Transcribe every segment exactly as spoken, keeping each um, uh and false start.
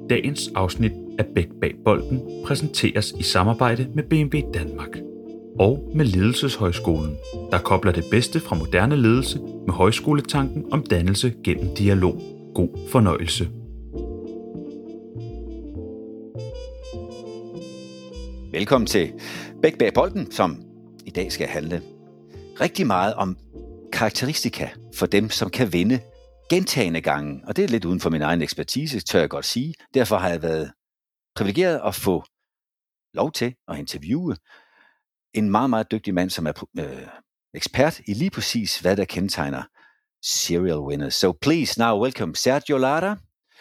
Dagens afsnit af Bæk bag bolden præsenteres i samarbejde med B M W Danmark og med Ledelseshøjskolen, der kobler det bedste fra moderne ledelse med højskoletanken om dannelse gennem dialog. God fornøjelse. Velkommen til Bæk bag bolden, som i dag skal handle rigtig meget om karakteristika for dem, som kan vinde gentagne gange. Og det er lidt uden for min egen ekspertise, tør jeg godt sige. Derfor har jeg været privilegeret at få lov til at interviewe en meget, meget dygtig mand, som er øh, ekspert i lige præcis, hvad der kendetegner serial winners. So please now welcome Sergio Lara.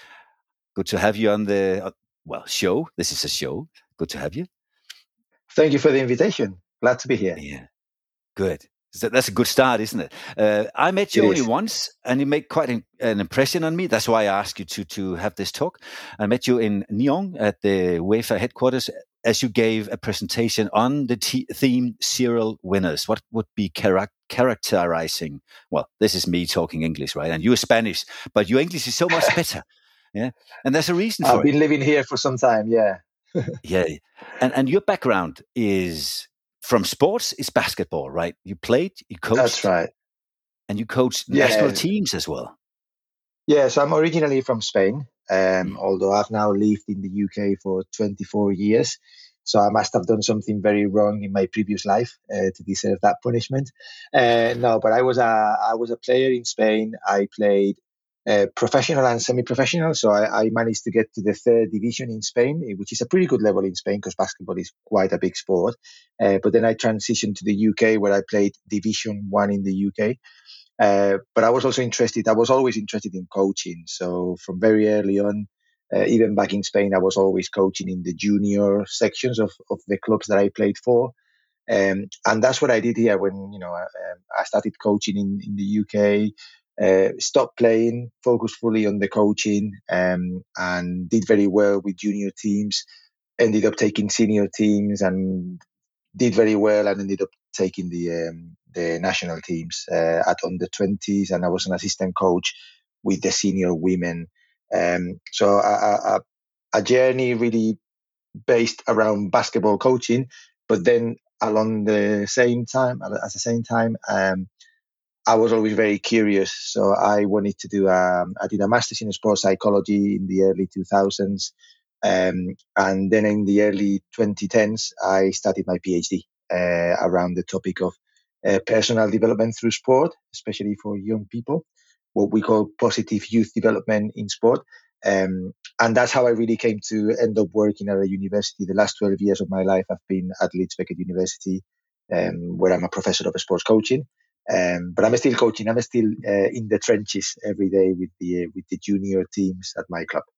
Good to have you on the, uh, well, show. This is a show. Good to have you. Thank you for the invitation. Glad to be here. Yeah, good. So that's a good start, isn't it? Uh, I met you It only is. once, and you made quite an, an impression on me. That's why I asked you to to have this talk. I met you in Nyon at the UEFA headquarters as you gave a presentation on the t- theme serial winners. What would be charac- characterizing? Well, this is me talking English, right? And you're Spanish, but your English is so much better. Yeah, and there's a reason for I've it. been living here for some time, yeah. Yeah, and and your background is from sports, is basketball, right? You played, you coached, That's right. and you coached Yeah. national teams as well. Yeah, so I'm originally from Spain, um, Mm. although I've now lived in the U K for twenty-four years. So I must have done something very wrong in my previous life uh, to deserve that punishment. Uh, no, but I was a I was a player in Spain. I played uh, professional and semi-professional. So I, I managed to get to the third division in Spain, which is a pretty good level in Spain because basketball is quite a big sport. Uh, but then I transitioned to the U K where I played Division One in the U K. Uh, but I was also interested. I was always interested in coaching. So from very early on, uh, even back in Spain, I was always coaching in the junior sections of, of the clubs that I played for. Um, and that's what I did here when, you know, I, um, I started coaching in, in the U K, uh, stopped playing, focused fully on the coaching, um, and did very well with junior teams, ended up taking senior teams and did very well and ended up taking the um, the national teams uh, at under twenties, and I was an assistant coach with the senior women. Um, so a, a, a journey really based around basketball coaching, but then along the same time, at the same time, um, I was always very curious. So I wanted to do, um, I did a master's in sports psychology in the early two thousands. Um, and then in the early twenty tens, I started my PhD uh, around the topic of uh, personal development through sport, especially for young people, what we call positive youth development in sport. Um, and that's how I really came to end up working at a university. The last twelve years of my life I've been at Leeds Beckett University, um, where I'm a professor of sports coaching. Um, but I'm still coaching. I'm still uh, in the trenches every day with the uh, with the junior teams at my club.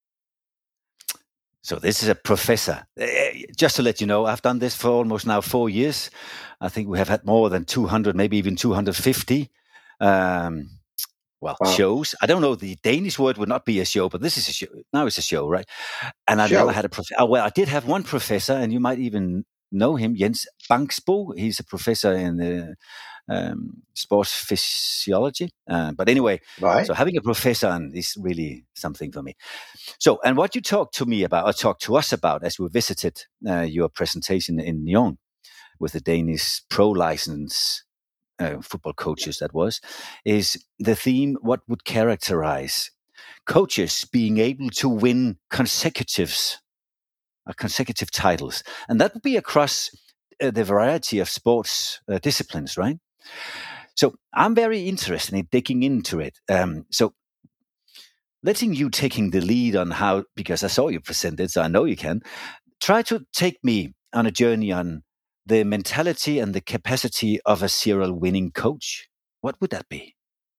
So this is a professor. Uh, just to let you know, I've done this for almost now four years. I think we have had more than two hundred, maybe even two hundred fifty um, well, Wow. shows. I don't know, the Danish word would not be a show, but this is a show. Now it's a show, right? And I've Show. never had a professor. Oh, well, I did have one professor, and you might even know him, Jens Bangsbo. He's a professor in the um, sports physiology. Uh, but anyway, Right. so having a professor on is really something for me. So, and what you talked to me about, or talked to us about as we visited uh, your presentation in Nyon with the Danish pro license uh, football coaches, that was, is the theme, what would characterize coaches being able to win consecutives, uh, consecutive titles. And that would be across uh, the variety of sports uh, disciplines, right? So I'm very interested in digging into it. Um, so letting you taking the lead on how, because I saw you present it, so I know you can, try to take me on a journey on the mentality and the capacity of a serial winning coach. What would that be?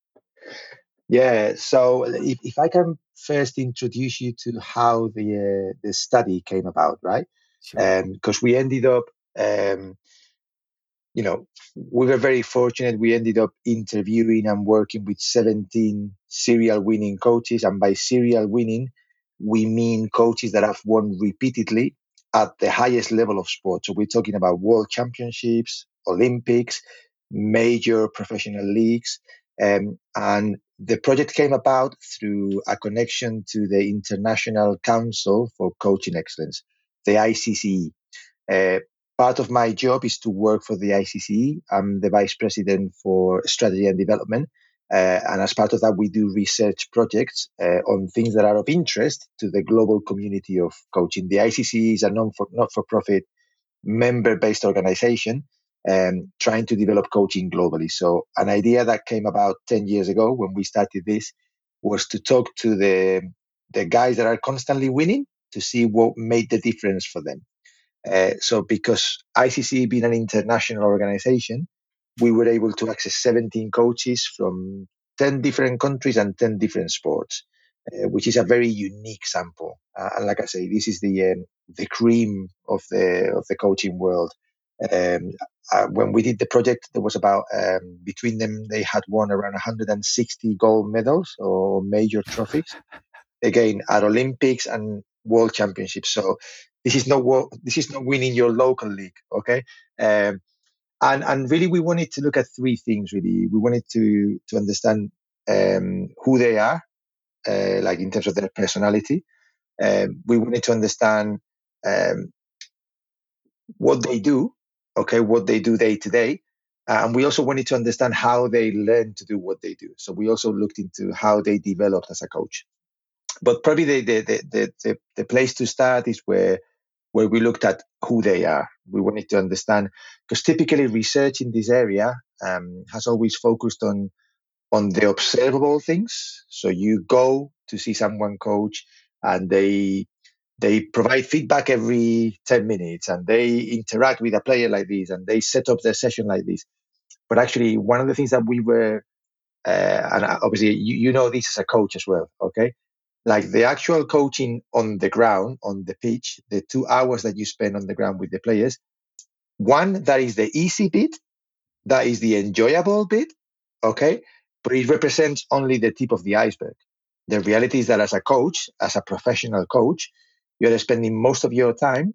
Yeah. So if, if I can first introduce you to how the uh, the study came about, right? Sure. Because we ended up, um, you know, we were very fortunate. We ended up interviewing and working with seventeen serial winning coaches. And by serial winning, we mean coaches that have won repeatedly at the highest level of sport. So we're talking about world championships, Olympics, major professional leagues. Um, and the project came about through a connection to the International Council for Coaching Excellence, the I C C E. Uh, part of my job is to work for the I C C E. I'm the vice president for strategy and development. Uh, and as part of that, we do research projects uh, on things that are of interest to the global community of coaching. The I C C E is a non for, not-for-profit member-based organization um, trying to develop coaching globally. So an idea that came about ten years ago when we started this was to talk to the, the guys that are constantly winning to see what made the difference for them. Uh, so because I C C being an international organization, we were able to access seventeen coaches from ten different countries and ten different sports, uh, which is a very unique sample. Uh, and like I say, this is the um, the cream of the of the coaching world. Um, uh, when we did the project, there was about um, between them they had won around one hundred sixty gold medals or major trophies. Again, at Olympics and World Championships. So this is not this is not winning your local league, okay? Um, and and really, we wanted to look at three things. Really, we wanted to to understand um, who they are, uh, like in terms of their personality. Um, we wanted to understand um, what they do, okay, what they do day to day. And we also wanted to understand how they learn to do what they do. So we also looked into how they developed as a coach. But probably the the, the the the place to start is where where we looked at who they are. We wanted to understand, because typically research in this area um, has always focused on on the observable things. So you go to see someone coach, and they they provide feedback every ten minutes, and they interact with a player like this, and they set up their session like this. But actually, one of the things that we were, uh, and obviously you, you know this as a coach as well, okay? Like the actual coaching on the ground, on the pitch, the two hours that you spend on the ground with the players, one, that is the easy bit, that is the enjoyable bit, okay? But it represents only the tip of the iceberg. The reality is that as a coach, as a professional coach, you're spending most of your time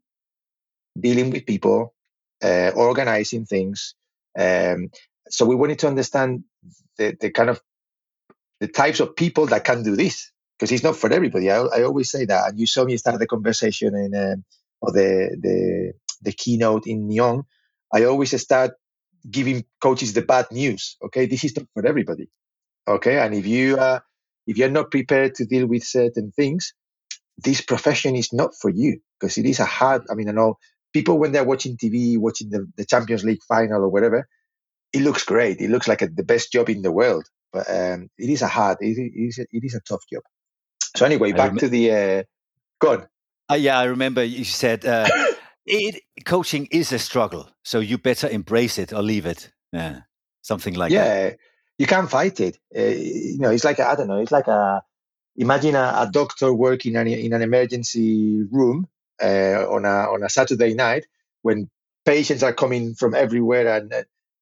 dealing with people, uh, organizing things. Um, so we wanted to understand the, the kind of the types of people that can do this, because it's not for everybody. I, I always say that. And you saw me start the conversation in um, or the, the the keynote in Nyon. I always start giving coaches the bad news. Okay, this is not for everybody. Okay, and if you uh, if you're not prepared to deal with certain things, this profession is not for you, because it is a hard. I mean, I know people when they're watching T V, watching the, the Champions League final or whatever, it looks great. It looks like a, the best job in the world. But um, it is a hard, it is a, it is a tough job. So anyway, back rem- to the, uh, go on. Uh, yeah, I remember you said uh, it, coaching is a struggle, so you better embrace it or leave it. Yeah, something like yeah, that. Yeah, you can't fight it. Uh, you know, it's like, a, I don't know, it's like a, imagine a, a doctor working in, in an emergency room uh, on, a, on a Saturday night when patients are coming from everywhere, and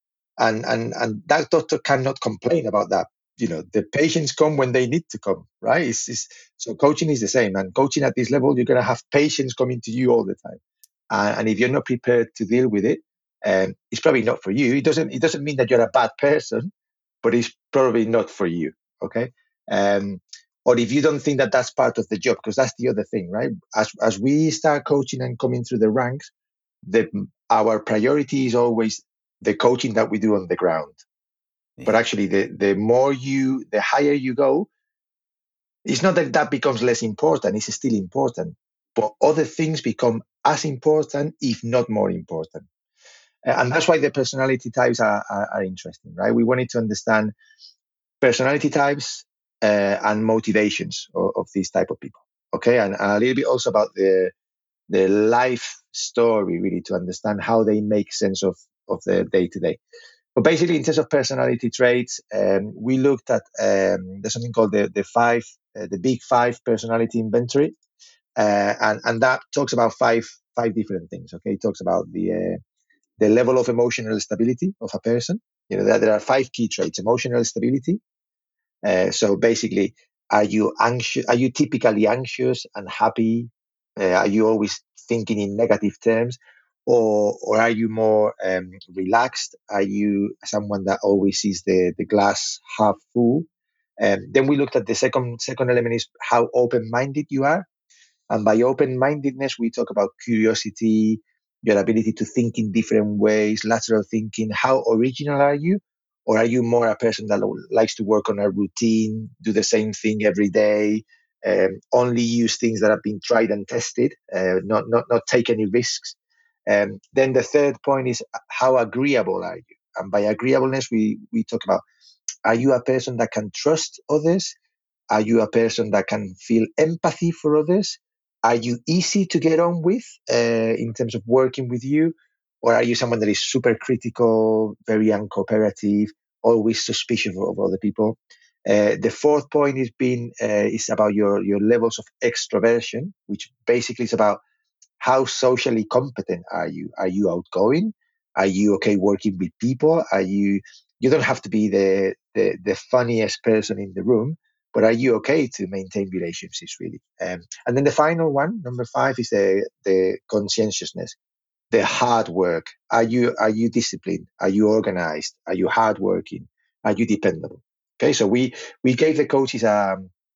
and and and that doctor cannot complain about that. You know, the patients come when they need to come, right? It's, it's, so coaching is the same, and coaching at this level, you're going to have patients coming to you all the time, uh, and if you're not prepared to deal with it, um, it's probably not for you. It doesn't it doesn't mean that you're a bad person, but it's probably not for you. Okay, um, or if you don't think that that's part of the job, because that's the other thing, right? As as we start coaching and coming through the ranks, the our priority is always the coaching that we do on the ground. Yeah. But actually, the, the more you, the higher you go, it's not that that becomes less important. It's still important. But other things become as important, if not more important. Uh, and that's why the personality types are, are, are interesting, right? We wanted to understand personality types uh, and motivations of, of these type of people. Okay, and, and a little bit also about the the life story, really, to understand how they make sense of, of their day-to-day. But basically, in terms of personality traits, um, we looked at, um, there's something called the, the five, uh, the big five personality inventory. Uh, and, and that talks about five, five different things. Okay. It talks about the, uh, the level of emotional stability of a person. You know, there, there are five key traits: emotional stability. Uh, so basically, are you anxious? Are you typically anxious and happy? Uh, are you always thinking in negative terms, or or are you more um, relaxed? Are you someone that always sees the, the glass half full? Um, then we looked at the second second element is how open-minded you are. And by open-mindedness, we talk about curiosity, your ability to think in different ways, lateral thinking. How original are you? Or are you more a person that likes to work on a routine, do the same thing every day, um, only use things that have been tried and tested, uh, not, not, not take any risks? Um, then the third point is how agreeable are you? And by agreeableness, we, we talk about, are you a person that can trust others? Are you a person that can feel empathy for others? Are you easy to get on with uh, in terms of working with you? Or are you someone that is super critical, very uncooperative, always suspicious of other people? Uh, the fourth point is being uh, is about your, your levels of extroversion, which basically is about how socially competent are you? Are you outgoing? Are you okay working with people? Are you you don't have to be the, the, the funniest person in the room, but are you okay to maintain relationships, really? Um, and then the final one, number five, is the, the conscientiousness, the hard work. Are you are you disciplined? Are you organized? Are you hardworking? Are you dependable? Okay, so we we gave the coaches a,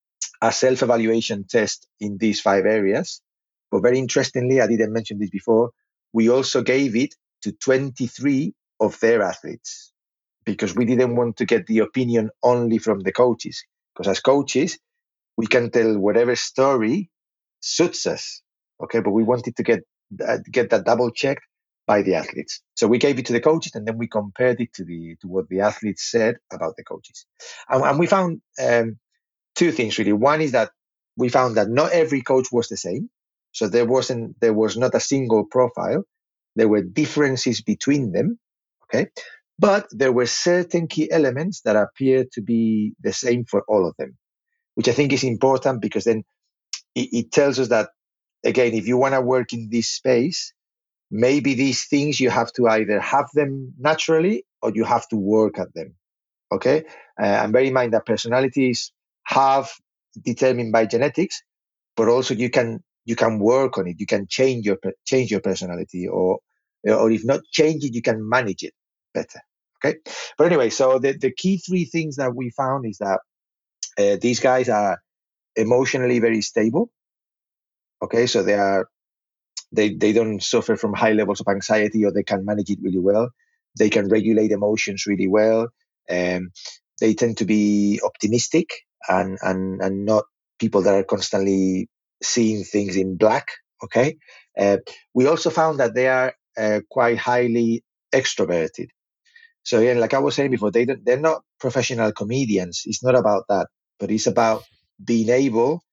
a self-evaluation test in these five areas. But very interestingly, I didn't mention this before, we also gave it to twenty-three of their athletes, because we didn't want to get the opinion only from the coaches. Because as coaches, we can tell whatever story suits us, okay? But we wanted to get uh, get that double checked by the athletes. So we gave it to the coaches, and then we compared it to the to what the athletes said about the coaches. And, and we found um, two things, really. One is that we found that not every coach was the same. So there wasn't there was not a single profile. There were differences between them, okay? But there were certain key elements that appeared to be the same for all of them, which I think is important, because then it, it tells us that, again, if you want to work in this space, maybe these things you have to either have them naturally or you have to work at them, okay? Uh, and bear in mind that personality is half determined by genetics, but also you can you can work on it. You can change your change your personality, or or if not change it, you can manage it better. Okay, but anyway, so the, the key three things that we found is that uh, these guys are emotionally very stable. Okay, so they are they they don't suffer from high levels of anxiety, or they can manage it really well. They can regulate emotions really well. Um, they tend to be optimistic and and and not people that are constantly seeing things in black. Okay, uh, we also found that they are uh, quite highly extroverted. So again, like I was saying before, they don't, they're not professional comedians. It's not about that, but it's about being able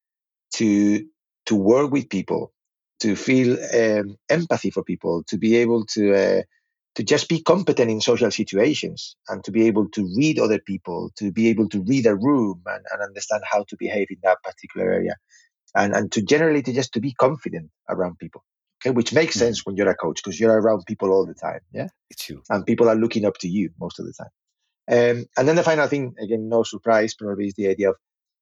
to to work with people, to feel um, empathy for people, to be able to uh, to just be competent in social situations, and to be able to read other people, to be able to read a room and, and understand how to behave in that particular area, and and to generally to just to be confident around people. Okay, which makes mm-hmm. sense when you're a coach, because you're around people all the time. Yeah, it's you, and people are looking up to you most of the time. Um, and then the final thing, again, no surprise, probably, is the idea of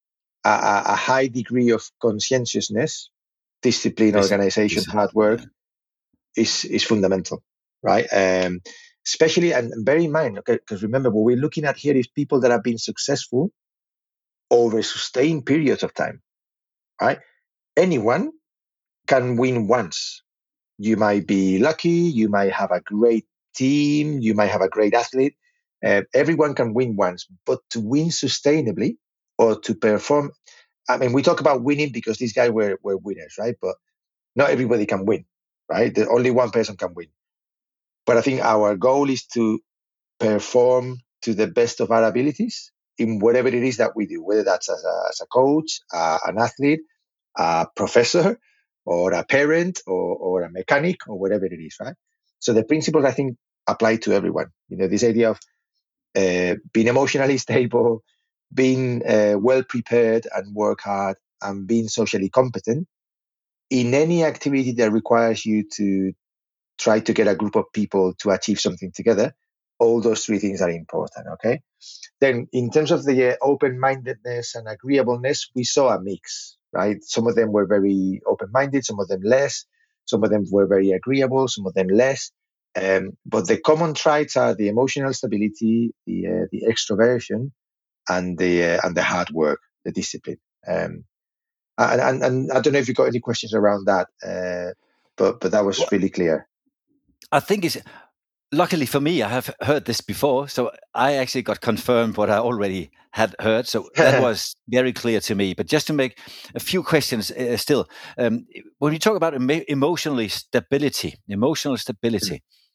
a, a high degree of conscientiousness, discipline, Dis- organization, discipline, hard work yeah. is is fundamental, right? Um, especially, and, and bear in mind, okay, because remember, what we're looking at here is people that have been successful over sustained periods of time, right? Anyone can win once. You might be lucky, you might have a great team, you might have a great athlete. Uh, everyone can win once, but to win sustainably or to perform, I mean, we talk about winning because these guys were, were winners, right? But not everybody can win, right? The, only one person can win. But I think our goal is to perform to the best of our abilities in whatever it is that we do, whether that's as a, as a coach, uh, an athlete, a professor, or a parent, or, or a mechanic, or whatever it is, right? So the principles, I think, apply to everyone. You know, this idea of uh, being emotionally stable, being uh, well prepared and work hard, and being socially competent in any activity that requires you to try to get a group of people to achieve something together. All those three things are important, okay? Then in terms of the uh, open-mindedness and agreeableness, we saw a mix, right? Some of them were very open-minded, some of them less, some of them were very agreeable, some of them less. Um, but the common traits are the emotional stability, the uh, the extroversion, and the uh, and the hard work, the discipline. Um, and, and and I don't know if you got any questions around that, uh, but but that was well, really clear. I think it's luckily for me, I have heard this before, so I actually got confirmed what I already had heard. So that was very clear to me. But just to make a few questions uh, still, um, when we talk about em- emotionally stability, emotional stability,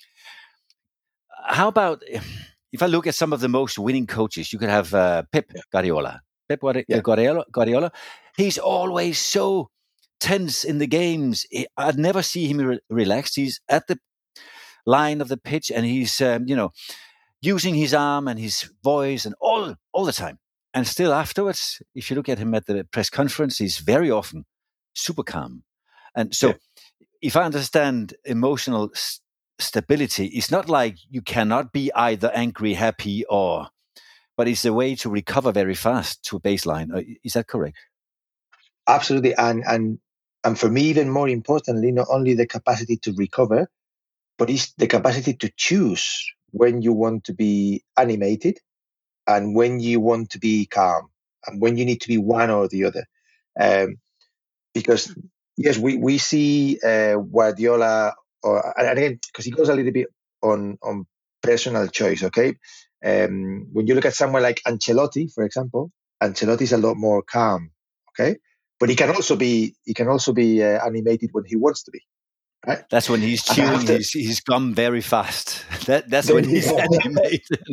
mm-hmm. how about if I look at some of the most winning coaches? You could have uh, Pep yeah. Guardiola. Pep Guardiola, yeah. Guardiola, Guardiola. He's always so tense in the games. I'd never see him re- relaxed. He's at the line of the pitch, and he's um, you know using his arm and his voice and all all the time. And still afterwards, if you look at him at the press conference, he's very often super calm. And so, yeah. if I understand emotional s- stability, it's not like you cannot be either angry, happy, or, but it's a way to recover very fast to a baseline. Is that correct? Absolutely, and and and for me, even more importantly, not only the capacity to recover, but it's the capacity to choose when you want to be animated and when you want to be calm and when you need to be one or the other. Um, because, yes, we, we see uh, Guardiola, or, and again, because he goes a little bit on, on personal choice, okay? Um, when you look at someone like Ancelotti, for example, Ancelotti is a lot more calm, okay? But he can also be he can also be uh, animated when he wants to be. Right? That's when he's chewing his, his gum very fast. That That's when he's animated.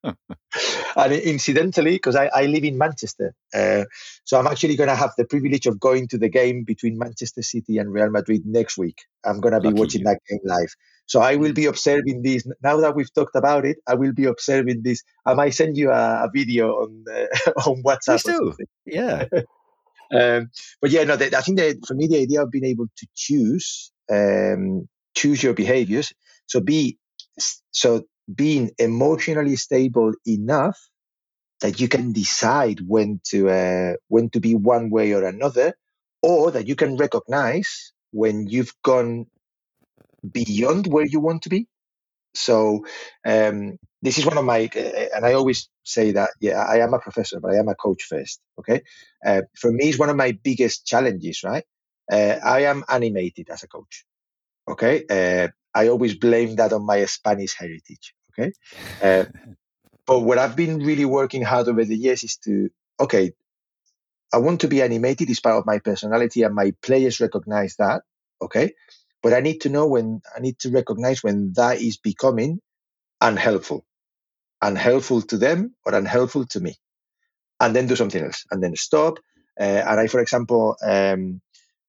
And incidentally, because I, I live in Manchester, uh, so I'm actually going to have the privilege of going to the game between Manchester City and Real Madrid next week. I'm going to be Lucky watching you. that game live. So I will be observing this. Now that we've talked about it, I will be observing this. I might send you a, a video on uh, on WhatsApp Please or do. something. Yeah. um, but yeah, no, the, I think that for me, the idea of being able to choose, um, choose your behaviors. So be, so being emotionally stable enough that you can decide when to uh, when to be one way or another, or that you can recognize when you've gone beyond where you want to be. So um, this is one of my, uh, and I always say that, yeah, I am a professor, but I am a coach first, okay? Uh, for me, it's one of my biggest challenges, right? Uh, I am animated as a coach, okay? Uh, I always blame that on my Spanish heritage, okay? Uh, but what I've been really working hard over the years is to, okay, I want to be animated. It's part of my personality, and my players recognize that, okay? But I need to know when, I need to recognize when that is becoming unhelpful, unhelpful to them or unhelpful to me, and then do something else, and then stop. Uh, and I, for example, um,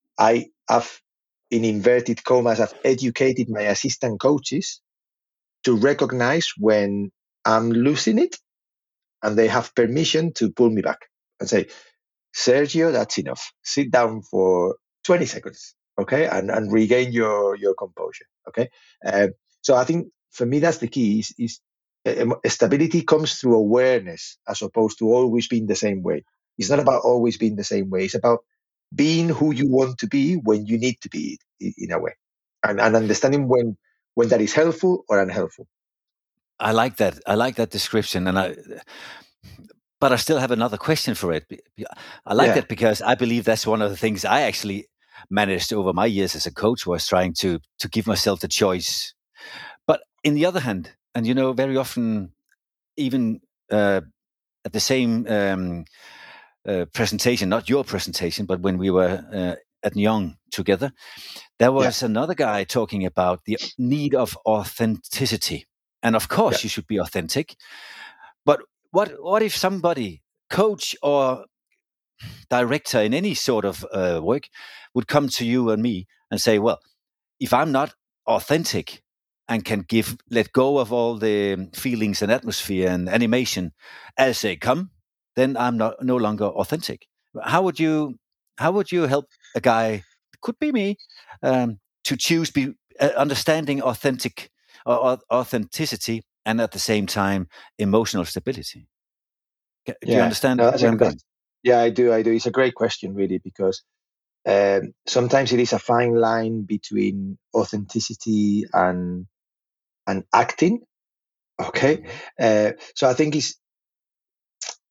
I have, in inverted commas, I've educated my assistant coaches to recognize when I'm losing it, and they have permission to pull me back and say, Sergio, that's enough. Sit down for twenty seconds, okay, and, and regain your, your composure, okay? Uh, so I think for me, that's the key, is, is uh, stability comes through awareness as opposed to always being the same way. It's not about always being the same way. It's about being who you want to be when you need to be, in a way, and, and understanding when, when that is helpful or unhelpful. I like that. I like that description. And I, but I still have another question for it. I like yeah. that because I believe that's one of the things I actually managed over my years as a coach, was trying to to give myself the choice. But in the other hand, and you know, very often, even uh, at the same um, uh, presentation, not your presentation, but when we were uh, at Nyon together, there was yeah. another guy talking about the need of authenticity. And of course, yeah. you should be authentic. But what what if somebody, coach or director in any sort of uh, work, would come to you and me and say, well, if I'm not authentic and can give, let go of all the feelings and atmosphere and animation as they come, then I'm not no longer authentic. How would you how would you help a guy, could be me, um, to choose be uh, understanding authentic or authenticity and at the same time emotional stability? Do yeah. you understand no, where I'm going? Yeah, I do. I do. It's a great question, really, because um, sometimes it is a fine line between authenticity and and acting. Okay, mm-hmm. uh, so I think it's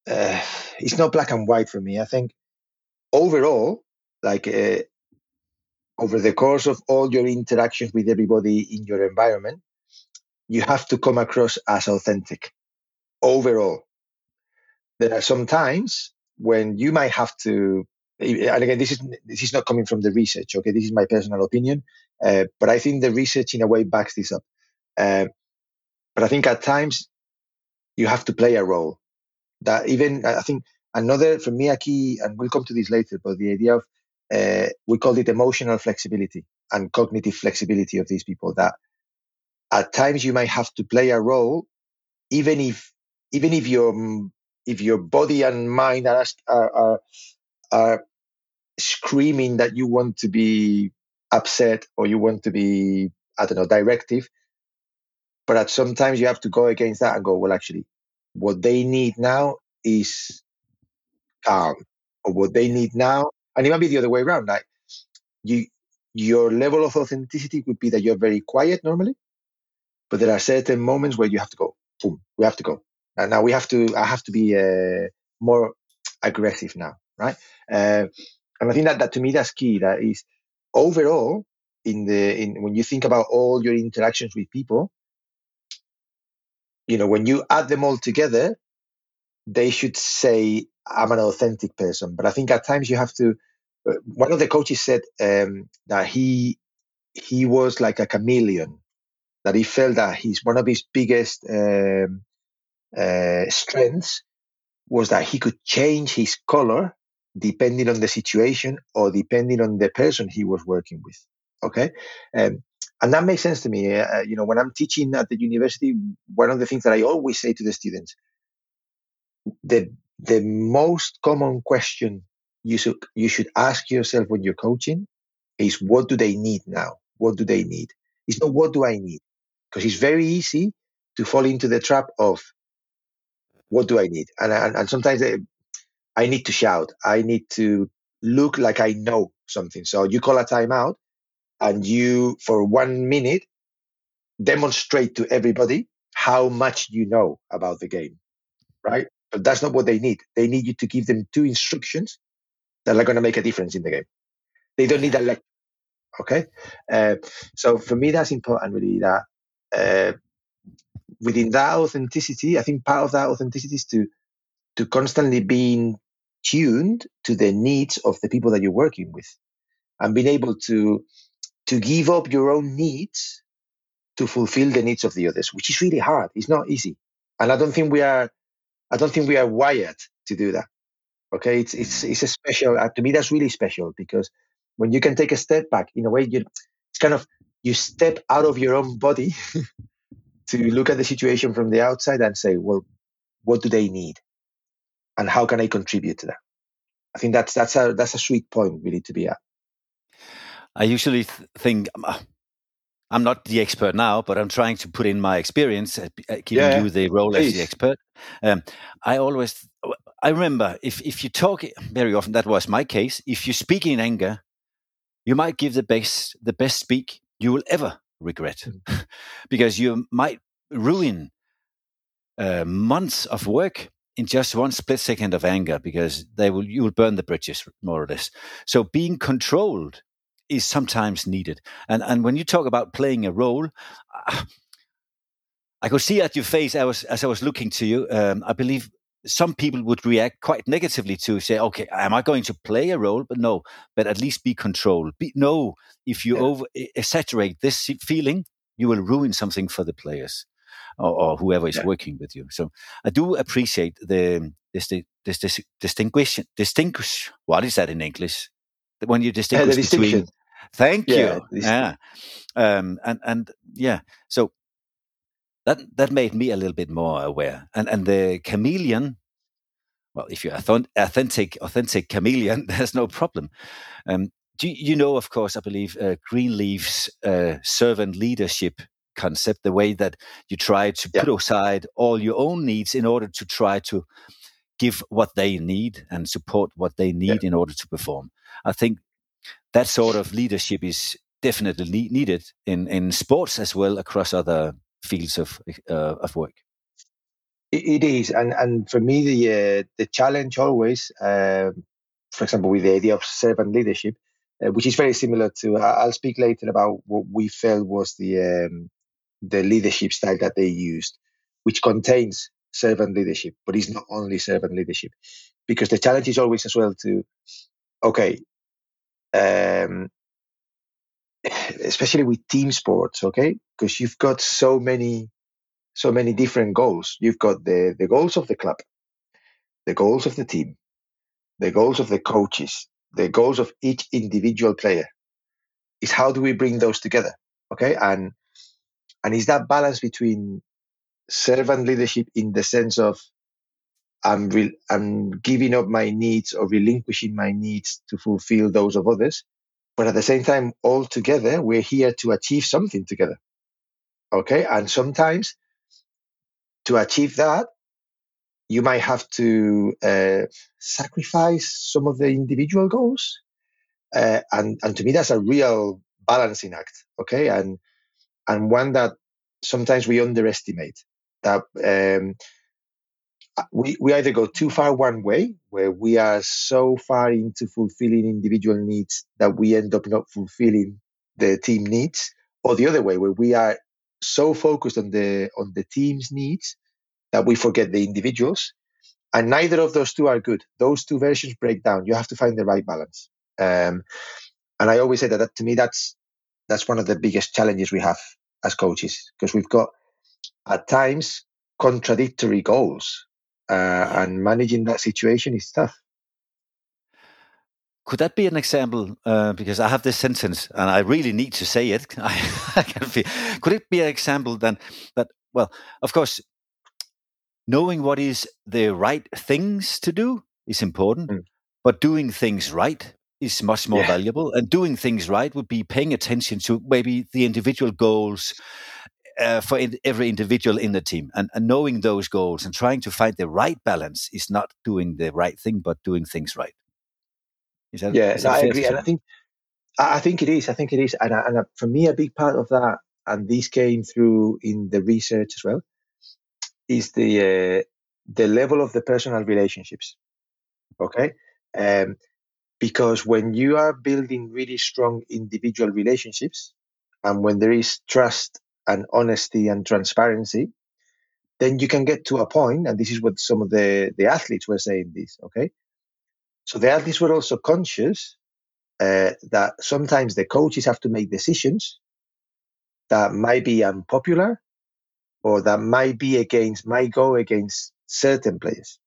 uh, it's not black and white for me. I think overall, like uh, over the course of all your interactions with everybody in your environment, you have to come across as authentic overall. There are some times when you might have to, and again, this is this is not coming from the research. Okay, this is my personal opinion, uh, but I think the research in a way backs this up. Uh, but I think at times you have to play a role. That even I think another for me a key, and we'll come to this later, but the idea of uh, we call it emotional flexibility and cognitive flexibility of these people. That at times you might have to play a role, even if even if your if your body and mind are are, are, are screaming that you want to be upset or you want to be, I don't know, directive. But at sometimes you have to go against that and go, well, actually, what they need now is calm, or what they need now, and it might be the other way around. Like you, your level of authenticity would be that you're very quiet normally, but there are certain moments where you have to go, boom, we have to go. And now we have to, I have to be uh, more aggressive now, right? Uh, and I think that, that to me, that's key. That is overall in the, in when you think about all your interactions with people, you know, when you add them all together, they should say, I'm an authentic person. But I think at times you have to, uh, one of the coaches said um, that he, he was like a chameleon, that he felt that he's one of his biggest um, uh, strengths was that he could change his color depending on the situation or depending on the person he was working with. Okay. Um, and that makes sense to me. Uh, you know, when I'm teaching at the university, one of the things that I always say to the students, the the most common question you should you should ask yourself when you're coaching is, what do they need now? What do they need? It's not what do I need, because it's very easy to fall into the trap of what do I need, and and, and sometimes I, I need to shout, I need to look like I know something. So you call a timeout, and you for one minute demonstrate to everybody how much you know about the game, right? But that's not what they need. They need you to give them two instructions that are going to make a difference in the game. They don't need a lecture. Okay. Uh, so for me, that's important, really, that uh, within that authenticity, I think part of that authenticity is to, to constantly being tuned to the needs of the people that you're working with, and being able to, to give up your own needs to fulfill the needs of the others, which is really hard. It's not easy. And I don't think we are, I don't think we are wired to do that. Okay. It's, it's, it's a special, uh, to me, that's really special, because when you can take a step back, in a way, you, it's kind of, you step out of your own body to look at the situation from the outside and say, well, what do they need? And how can I contribute to that? I think that's, that's a, that's a sweet point really to be at. I usually th- think, uh, I'm not the expert now, but I'm trying to put in my experience, uh, giving yeah, you the role please. As the expert. Um, I always, I remember if, if you talk very often, that was my case. If you speak in anger, you might give the best, the best speak you will ever regret, mm-hmm. because you might ruin uh, months of work in just one split second of anger, because they will, you will burn the bridges, more or less. So being controlled is sometimes needed. And and when you talk about playing a role, uh, I could see at your face, I was, as I was looking to you, um, I believe some people would react quite negatively to say, okay, am I going to play a role? But no, but at least be controlled. Be, no, if you yeah. over exaggerate this feeling, you will ruin something for the players or, or whoever is yeah. working with you. So I do appreciate the this this, this distinguish distinguish. What is that in English? When you distinguish yeah, between, thank yeah, you, yeah, um, and and yeah, so that that made me a little bit more aware. And and the chameleon, well, if you're authentic, authentic chameleon, there's no problem. Um, do you know, of course, I believe uh, Greenleaf's uh, servant leadership concept, the way that you try to yeah. put aside all your own needs in order to try to give what they need and support what they need yeah. in order to perform. I think that sort of leadership is definitely needed in, in sports as well, across other fields of uh, of work. It, it is, and and for me, the uh, the challenge always, uh, for example, with the idea of servant leadership, uh, which is very similar to. I'll speak later about what we felt was the um, the leadership style that they used, which contains servant leadership, but it's not only servant leadership, because the challenge is always as well to, okay, um, especially with team sports, okay, because you've got so many, so many different goals. You've got the the goals of the club, the goals of the team, the goals of the coaches, the goals of each individual player. Is how do we bring those together, okay, and and is that balance between servant leadership in the sense of I'm re- I'm giving up my needs or relinquishing my needs to fulfill those of others, but at the same time, all together, we're here to achieve something together. Okay, and sometimes to achieve that, you might have to uh, sacrifice some of the individual goals, uh, and and to me, that's a real balancing act. Okay, and and one that sometimes we underestimate. That um, we, we either go too far one way, where we are so far into fulfilling individual needs that we end up not fulfilling the team needs, or the other way, where we are so focused on the on the team's needs that we forget the individuals. And neither of those two are good. Those two versions break down. You have to find the right balance. Um, and I always say that, that to me, that's that's one of the biggest challenges we have as coaches, because we've got at times contradictory goals. Uh, and managing that situation is tough. Could that be an example? Uh, because I have this sentence, and I really need to say it. I, I can feel. Could it be an example then that, well, of course, knowing what is the right things to do is important, mm. but doing things right is much more yeah. valuable. And doing things right would be paying attention to maybe the individual goals Uh, for in, every individual in the team, and, and knowing those goals and trying to find the right balance is not doing the right thing, but doing things right. Is that, yeah, is that no, I agree, and I think I think it is. I think it is, and, and for me, a big part of that, and this came through in the research as well, is the uh, the level of the personal relationships. Okay, um, because when you are building really strong individual relationships, and when there is trust and honesty and transparency, then you can get to a point, and this is what some of the, the athletes were saying this, okay? So the athletes were also conscious uh, that sometimes the coaches have to make decisions that might be unpopular or that might be against, might go against certain players.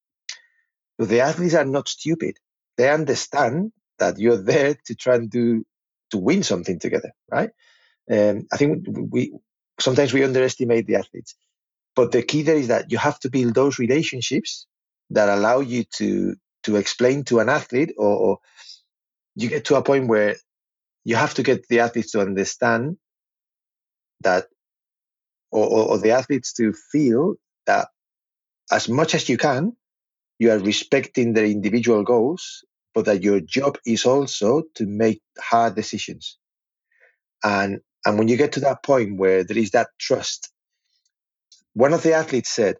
So the athletes are not stupid. They understand that you're there to try and do, to win something together, right? Um, I think we sometimes we underestimate the athletes. But the key there is that you have to build those relationships that allow you to to explain to an athlete, or, or you get to a point where you have to get the athletes to understand that, or, or, or the athletes to feel that as much as you can, you are respecting their individual goals, but that your job is also to make hard decisions. And and when you get to that point where there is that trust, one of the athletes said,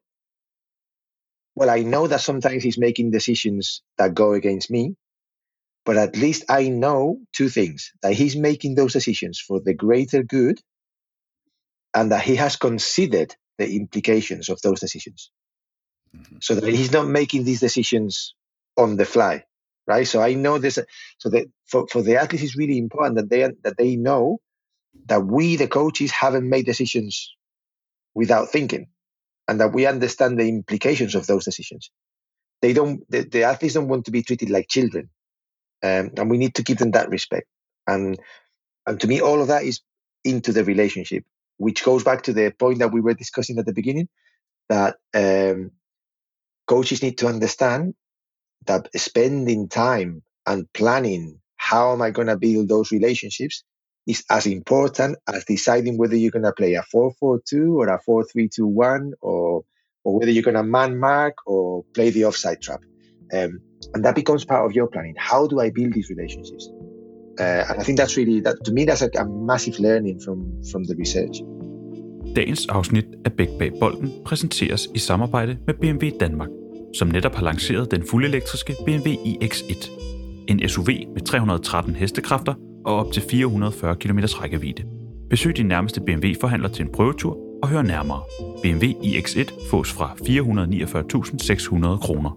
well, I know that sometimes he's making decisions that go against me, but at least I know two things, that he's making those decisions for the greater good and that he has considered the implications of those decisions. Mm-hmm. So that he's not making these decisions on the fly, right? So I know this. So that for, for the athletes, it's really important that they, that they know that we, the coaches, haven't made decisions without thinking, and that we understand the implications of those decisions. They don't. The, the athletes don't want to be treated like children, um, and we need to give them that respect. And and to me, all of that is into the relationship, which goes back to the point that we were discussing at the beginning, that um, coaches need to understand that spending time and planning how am I going to build those relationships is as important as deciding whether you're going to play a four four two or a four three two one, or or whether you're going to man mark or play the offside trap. Um, and that becomes part of your planning. How do I build these relationships? Uh, and I think that's really, that to me, that's a, a massive learning from, from the research. Dagens afsnit af Bæk bag bolden præsenteres i samarbejde med B M W Danmark, som netop har lanceret den fuldelektriske B M W i X et. En S U V med tre hundrede og tretten hestekræfter og op til fire hundrede og fyrre kilometer rækkevidde. Besøg din nærmeste B M W-forhandler til en prøvetur og hør nærmere. B M W i X et fås fra fire hundrede og niogfyrre tusind seks hundrede kroner.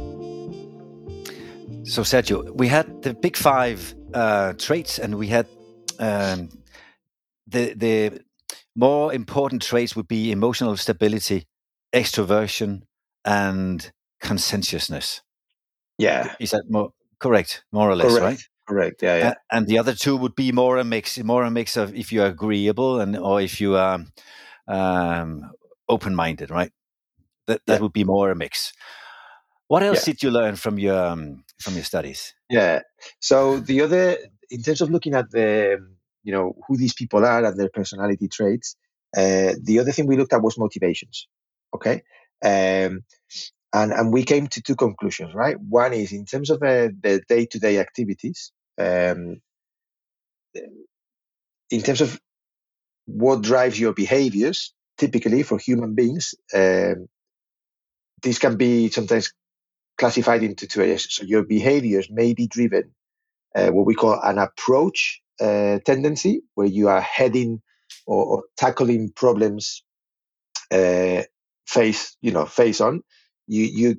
So Sergio, we had the big five uh, traits, and we had um, the the more important traits would be emotional stability, extroversion, and conscientiousness. Yeah. Is that more correct? More or less, Correct. right? Correct. Yeah, yeah. And, and the other two would be more a mix, more a mix of if you're agreeable and or if you are um, open-minded, right? That that Yeah. would be more a mix. What else Yeah. did you learn from your um, from your studies? Yeah. So the other, in terms of looking at the, you know, who these people are and their personality traits, uh, the other thing we looked at was motivations. Okay. Um, and and we came to two conclusions, right? One is in terms of uh, the day-to-day activities, um, in terms of what drives your behaviors, typically for human beings, um, this can be sometimes classified into two areas. So your behaviors may be driven, uh, what we call an approach uh, tendency, where you are heading or, or tackling problems uh, face, you know, face on. You you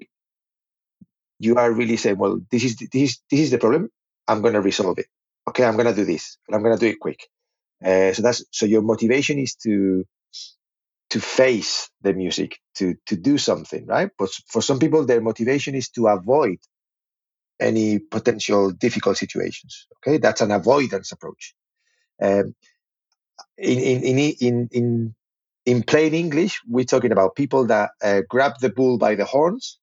you are really saying, well, this is this is this is the problem. I'm going to resolve it. Okay, I'm going to do this, and I'm going to do it quick. Uh, so that's so your motivation is to to face the music, to to do something, right? But for some people, their motivation is to avoid any potential difficult situations. Okay, that's an avoidance approach. Um, in, in in in in in plain English, we're talking about people that uh, grab the bull by the horns,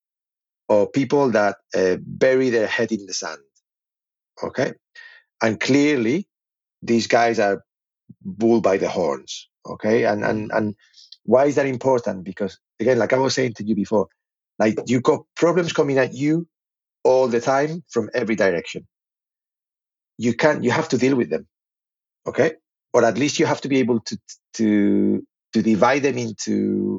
or people that uh, bury their head in the sand. Okay, and clearly, these guys are bull by the horns. Okay, and and and why is that important? Because again, like I was saying to you before, like you got problems coming at you all the time from every direction. You can't. You have to deal with them. Okay, or at least you have to be able to to to divide them into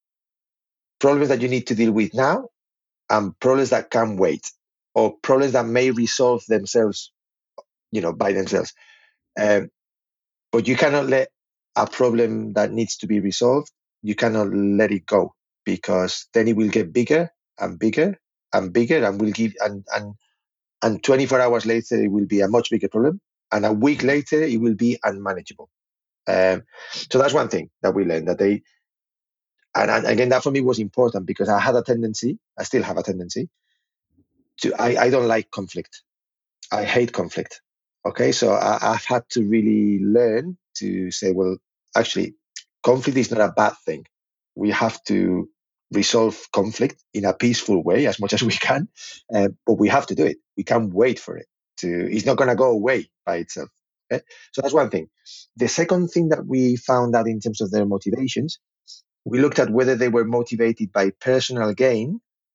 problems that you need to deal with now and problems that can wait, or problems that may resolve themselves, you know, by themselves. Um, but you cannot let a problem that needs to be resolved, you cannot let it go, because then it will get bigger and bigger and bigger, and will give and and and twenty-four hours later it will be a much bigger problem, and a week later it will be unmanageable. Um, so that's one thing that we learned, that they, and, and again, that for me was important, because I had a tendency, I still have a tendency to, I, I don't like conflict. I hate conflict. Okay, so I, I've had to really learn to say, well, actually, conflict is not a bad thing. We have to resolve conflict in a peaceful way as much as we can, uh, but we have to do it. We can't wait for it to, it's not going to go away by itself. Okay? So that's one thing. The second thing that we found out in terms of their motivations, we looked at whether they were motivated by personal gain,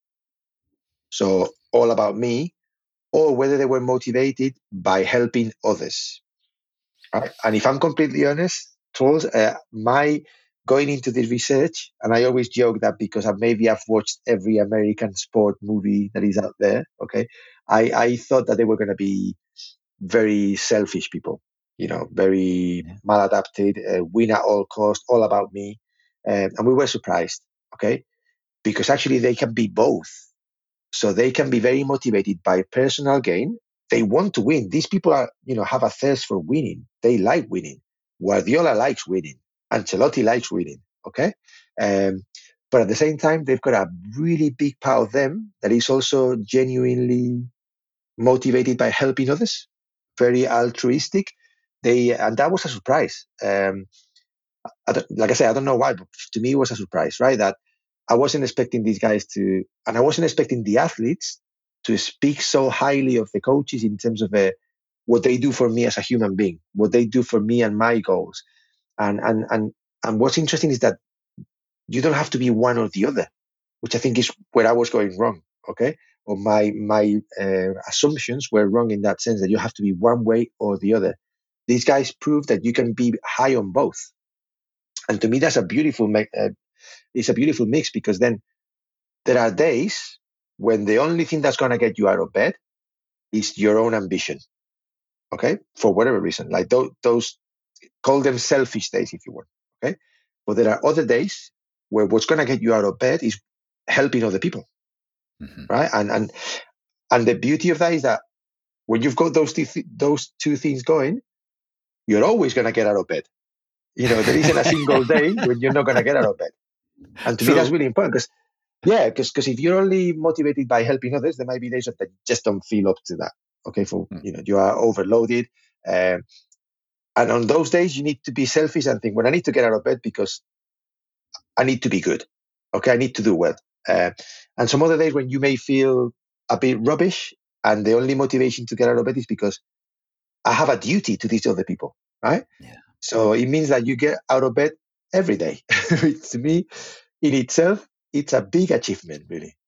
so all about me, or whether they were motivated by helping others. Right? And if I'm completely honest, Trolls, uh, my going into this research, and I always joke that because I, maybe I've watched every American sport movie that is out there, okay, I, I thought that they were going to be very selfish people, you know, very yeah. maladapted, uh, win at all cost, all about me. Um, and we were surprised, okay, because actually they can be both. So they can be very motivated by personal gain. They want to win. These people are, you know, have a thirst for winning. They like winning. Guardiola likes winning. Ancelotti likes winning. Okay. Um, but at the same time, they've got a really big part of them that is also genuinely motivated by helping others, very altruistic. They, and that was a surprise. Um, I don't, like I said, I don't know why, but to me it was a surprise, right? That I wasn't expecting these guys to, and I wasn't expecting the athletes to speak so highly of the coaches in terms of uh, what they do for me as a human being, what they do for me and my goals. And, and, and, and what's interesting is that you don't have to be one or the other, which I think is where I was going wrong. Okay. Or my, my uh, assumptions were wrong in that sense, that you have to be one way or the other. These guys prove that you can be high on both. And to me, that's a beautiful, uh, it's a beautiful mix, because then there are days when the only thing that's going to get you out of bed is your own ambition. Okay. For whatever reason, like those, those call them selfish days if you want. Okay. But there are other days where what's going to get you out of bed is helping other people. Mm-hmm. Right. And, and, and the beauty of that is that when you've got those two, those two things going, you're always going to get out of bed. You know, there isn't a single day when you're not going to get out of bed. And to True. me, that's really important, because, yeah, because because if you're only motivated by helping others, there might be days that you just don't feel up to that. Okay, for mm. you know, you are overloaded, um, and on those days you need to be selfish and think, well, I need to get out of bed because I need to be good. Okay, I need to do well. Uh, and some other days when you may feel a bit rubbish, and the only motivation to get out of bed is because I have a duty to these other people, right? Yeah. So it means that you get out of bed every day. To me, in itself, it's a big achievement, really.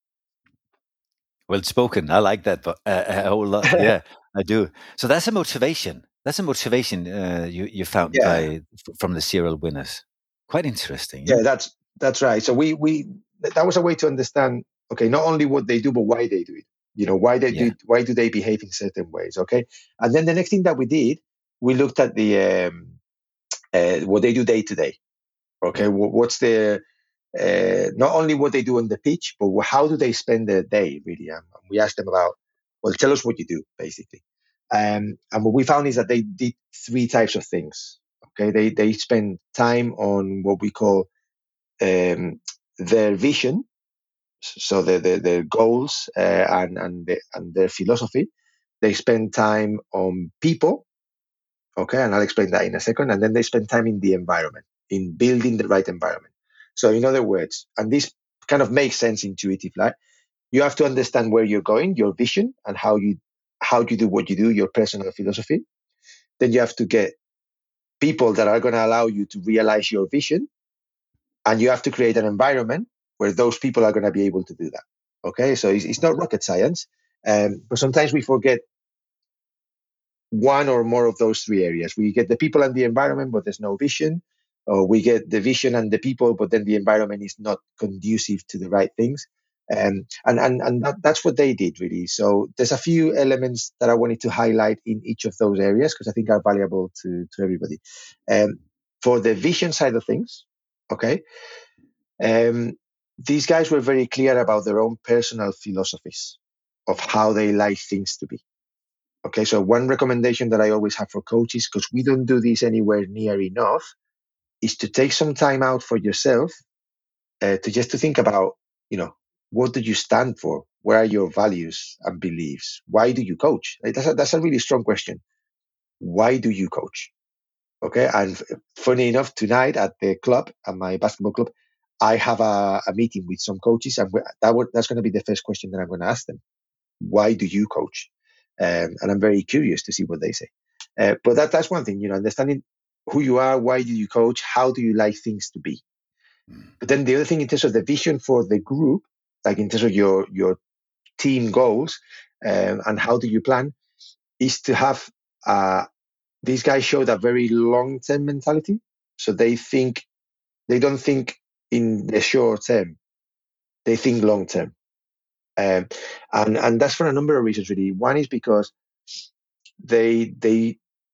Well spoken. I like that but, uh, a whole lot. Yeah, I do. So that's a motivation. That's a motivation uh, you you found yeah. by from the serial winners. Quite interesting. Yeah, yeah that's that's right. So we we that was a way to understand. Okay, not only what they do, but why they do it. You know, why they yeah. do why do they behave in certain ways? Okay, and then the next thing that we did, we looked at the um, uh, what they do day to day. Okay, what's the uh, not only what they do on the pitch, but how do they spend their day, really? Um, we asked them about, well, tell us what you do, basically. Um, and what we found is that they did three types of things. Okay, they they spend time on what we call um, their vision, so their their, their goals uh, and and, the, and their philosophy. They spend time on people. Okay, and I'll explain that in a second. And then they spend time in the environment, in building the right environment. So in other words, and this kind of makes sense intuitively, right? You have to understand where you're going, your vision, and how you how you do what you do, your personal philosophy. Then you have to get people that are going to allow you to realize your vision, and you have to create an environment where those people are going to be able to do that. Okay, so it's, it's not rocket science, um, but sometimes we forget one or more of those three areas. We get the people and the environment, but there's no vision. Or we get the vision and the people, but then the environment is not conducive to the right things. Um, and and, and that, that's what they did, really. So there's a few elements that I wanted to highlight in each of those areas because I think are valuable to, to everybody. Um, for the vision side of things, okay, um, these guys were very clear about their own personal philosophies of how they like things to be. Okay, so one recommendation that I always have for coaches, because we don't do this anywhere near enough, is to take some time out for yourself uh, to just to think about, you know, what do you stand for? Where are your values and beliefs? Why do you coach? Like, that's a, that's a really strong question. Why do you coach? Okay, and funny enough, tonight at the club, at my basketball club, I have a, a meeting with some coaches, and that would, that's going to be the first question that I'm going to ask them. Why do you coach? Um, and I'm very curious to see what they say. Uh, but that that's one thing, you know, understanding who you are, why do you coach, how do you like things to be. Mm. But then the other thing in terms of the vision for the group, like in terms of your your team goals um, and how do you plan, is to have uh, these guys show that very long-term mentality. So they think, they don't think in the short term, they think long-term. Um, and, and that's for a number of reasons, really. One is because they, they,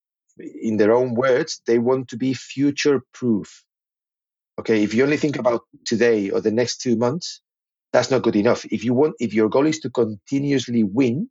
in their own words, they want to be future-proof. Okay, if you only think about today or the next two months, that's not good enough. If you want, if your goal is to continuously win,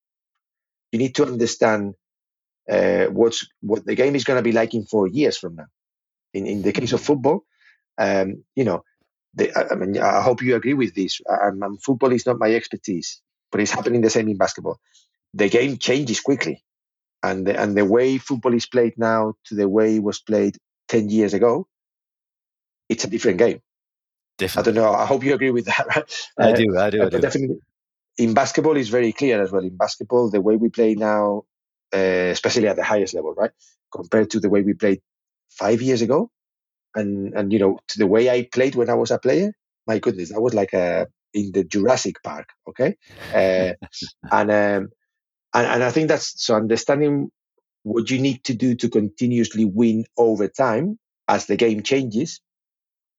you need to understand uh, what's what the game is going to be like in four years from now. In in the case of football, um, you know, the, I mean, I hope you agree with this. Um, um, football is not my expertise, but it's happening the same in basketball. The game changes quickly, and the, and the way football is played now to the way it was played ten years ago, it's a different game. Definitely. I don't know. I hope you agree with that. Right? I uh, do. I do. I do. But definitely, in basketball, it's very clear as well. In basketball, the way we play now, uh, especially at the highest level, right, compared to the way we played five years ago, and and you know, to the way I played when I was a player. My goodness, I was like a in the Jurassic Park. Okay, uh, and um, and and I think that's so understanding what you need to do to continuously win over time as the game changes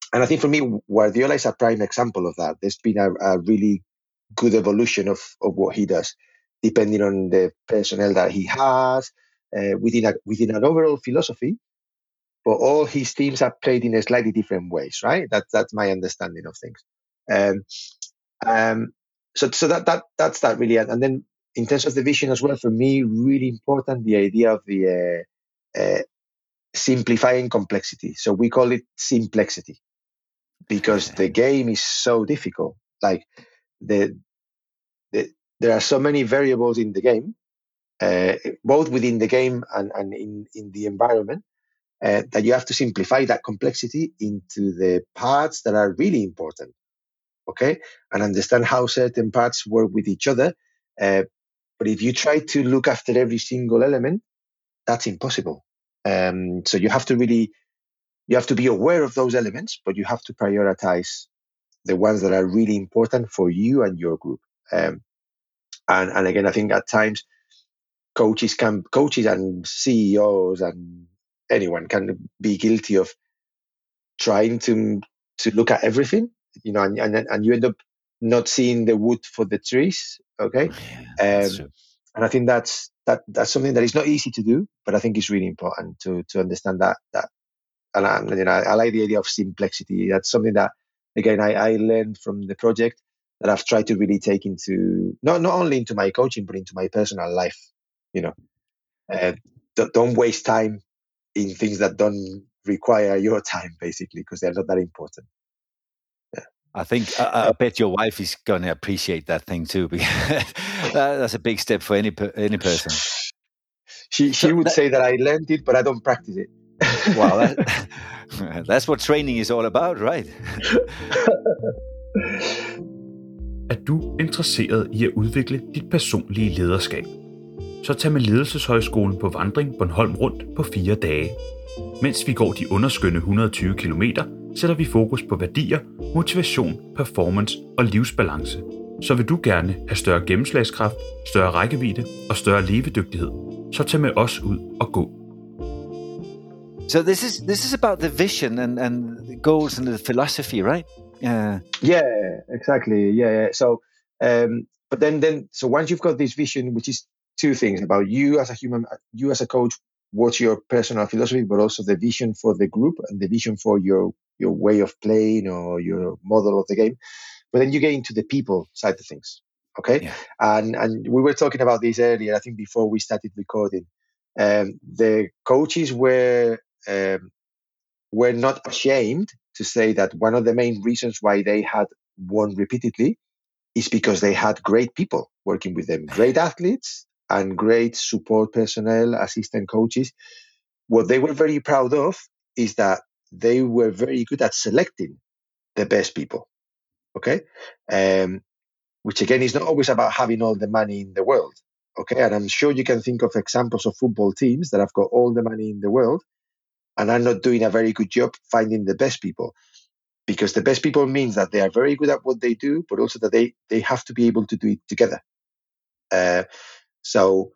and I think for me, Guardiola is a prime example of that. There's been a, a really good evolution of, of what he does, depending on the personnel that he has, uh, within a, within an overall philosophy. But all his teams are played in a slightly different ways, right? That's that's my understanding of things. Um, um, so so that that that's that really. And then in terms of the vision as well, for me, really important the idea of the uh, uh, simplifying complexity. So we call it simplexity because the game is so difficult. Like the, the there are so many variables in the game, uh, both within the game and, and in, in the environment, uh, that you have to simplify that complexity into the parts that are really important, okay? And understand how certain parts work with each other. Uh, but if you try to look after every single element, that's impossible. Um, so you have to really, you have to be aware of those elements, but you have to prioritize the ones that are really important for you and your group. Um, and, and again, I think at times coaches can, coaches and C E Os and anyone can be guilty of trying to to look at everything, you know, and and, and you end up not seeing the wood for the trees. Okay, Yeah, um, and I think that's that that's something that is not easy to do, but I think it's really important to to understand that that. And I, you know, I like the idea of simplexity. That's something that, again, I, I learned from the project that I've tried to really take into not not only into my coaching, but into my personal life. You know, uh, don't, don't waste time in things that don't require your time, basically, because they're not that important. Yeah. I think I, I bet your wife is going to appreciate that thing too, because that's a big step for any any person. She she so would that, say that I learned it, but I don't practice it. Wow, that, that's what training is all about, right? Er du interesseret i at udvikle dit personlige lederskab? Så tag med Ledelseshøjskolen på vandring Bornholm rundt på fire dage. Mens vi går de underskønne et hundrede og tyve kilometer, sætter vi fokus på værdier, motivation, performance og livsbalance. Så vil du gerne have større gennemslagskraft, større rækkevidde og større levedygtighed, så tag med os ud og gå. So this is this is about the vision and, and the goals and the philosophy, right? Uh, yeah, exactly. Yeah, yeah. So, um, but then, then, so once you've got this vision, which is two things about you as a human, you as a coach, what's your personal philosophy, but also the vision for the group and the vision for your your way of playing or your model of the game. But then you get into the people side of things, okay? Yeah. And and we were talking about this earlier, I think before we started recording. Um, the coaches were um, were not ashamed to say that one of the main reasons why they had won repeatedly is because they had great people working with them, great athletes and great support personnel, assistant coaches. What they were very proud of is that they were very good at selecting the best people, okay? Um, which again is not always about having all the money in the world, okay? And I'm sure you can think of examples of football teams that have got all the money in the world and are not doing a very good job finding the best people. Because the best people means that they are very good at what they do, but also that they, they have to be able to do it together. Uh, so,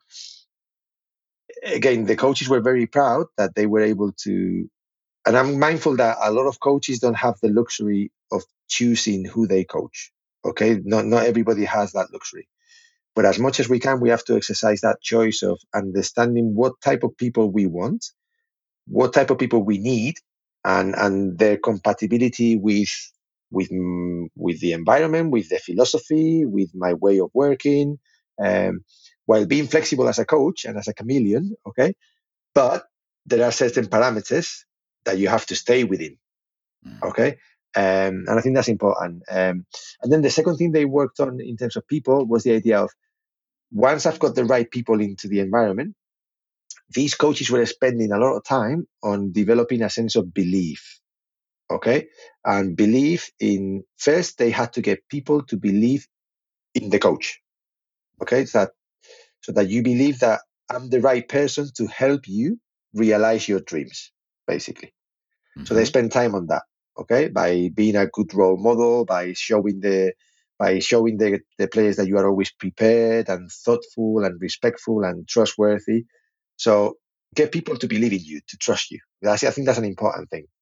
again, the coaches were very proud that they were able to, and I'm mindful that a lot of coaches don't have the luxury of choosing who they coach. Okay, not not everybody has that luxury. But as much as we can, we have to exercise that choice of understanding what type of people we want, what type of people we need, and and their compatibility with with with the environment, with the philosophy, with my way of working, um, while being flexible as a coach and as a chameleon. Okay, but there are certain parameters that you have to stay within. Okay, um, and I think that's important. Um, and then the second thing they worked on in terms of people was the idea of once I've got the right people into the environment, these coaches were spending a lot of time on developing a sense of belief, okay? And belief in, first, they had to get people to believe in the coach, okay? So that, so that you believe that I'm the right person to help you realize your dreams, basically. Mm-hmm. So they spend time on that, okay? By being a good role model, by showing the by showing the, the players that you are always prepared and thoughtful and respectful and trustworthy. So get people to believe in you, to trust you. That's, I think that's an important thing.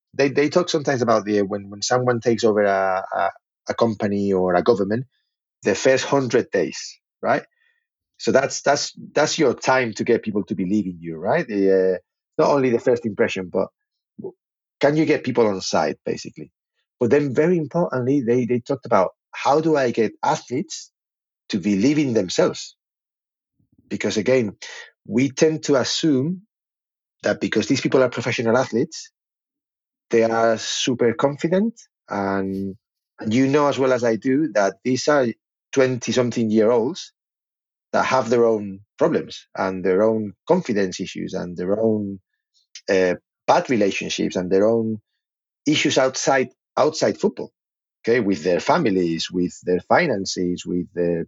they they talk sometimes about the when when someone takes over a a, a company or a government, the first hundred days, right? So that's that's that's your time to get people to believe in you, right? The, uh, not only the first impression, but can you get people on side, basically? But then, very importantly, they they talked about how do I get athletes to believe in themselves? Because again, we tend to assume that because these people are professional athletes, they are super confident, and, and you know as well as I do that these are twenty-something year olds that have their own problems and their own confidence issues and their own uh, bad relationships and their own issues outside outside football. Okay, with their families, with their finances, with their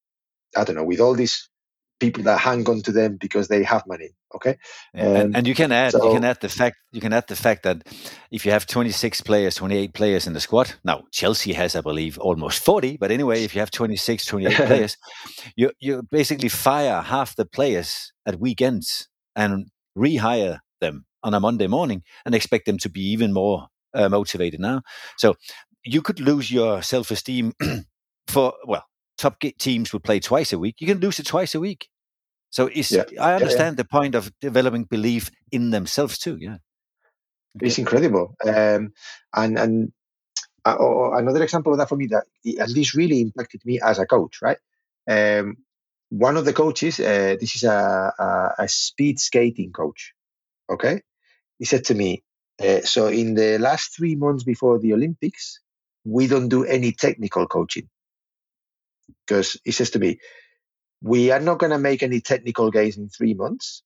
I don't know, with all these people that hang on to them because they have money. Okay, yeah, and, um, and you can add so, you can add the fact you can add the fact that if you have twenty-six players, twenty-eight players in the squad. Now Chelsea has, I believe, almost forty. But anyway, if you have twenty-six, twenty-eight players, you you basically fire half the players at weekends and rehire them on a Monday morning and expect them to be even more uh, motivated now. So you could lose your self-esteem for well. Top teams would play twice a week. You can lose it twice a week. So it's, yeah, I understand yeah, yeah. the point of developing belief in themselves too. Yeah, Okay. It's incredible. Um, and and uh, oh, another example of that for me that and this really impacted me as a coach. Right. Um, one of the coaches, uh, this is a, a, a speed skating coach. Okay. He said to me, uh, so in the last three months before the Olympics, we don't do any technical coaching. Because he says to me, we are not going to make any technical gains in three months.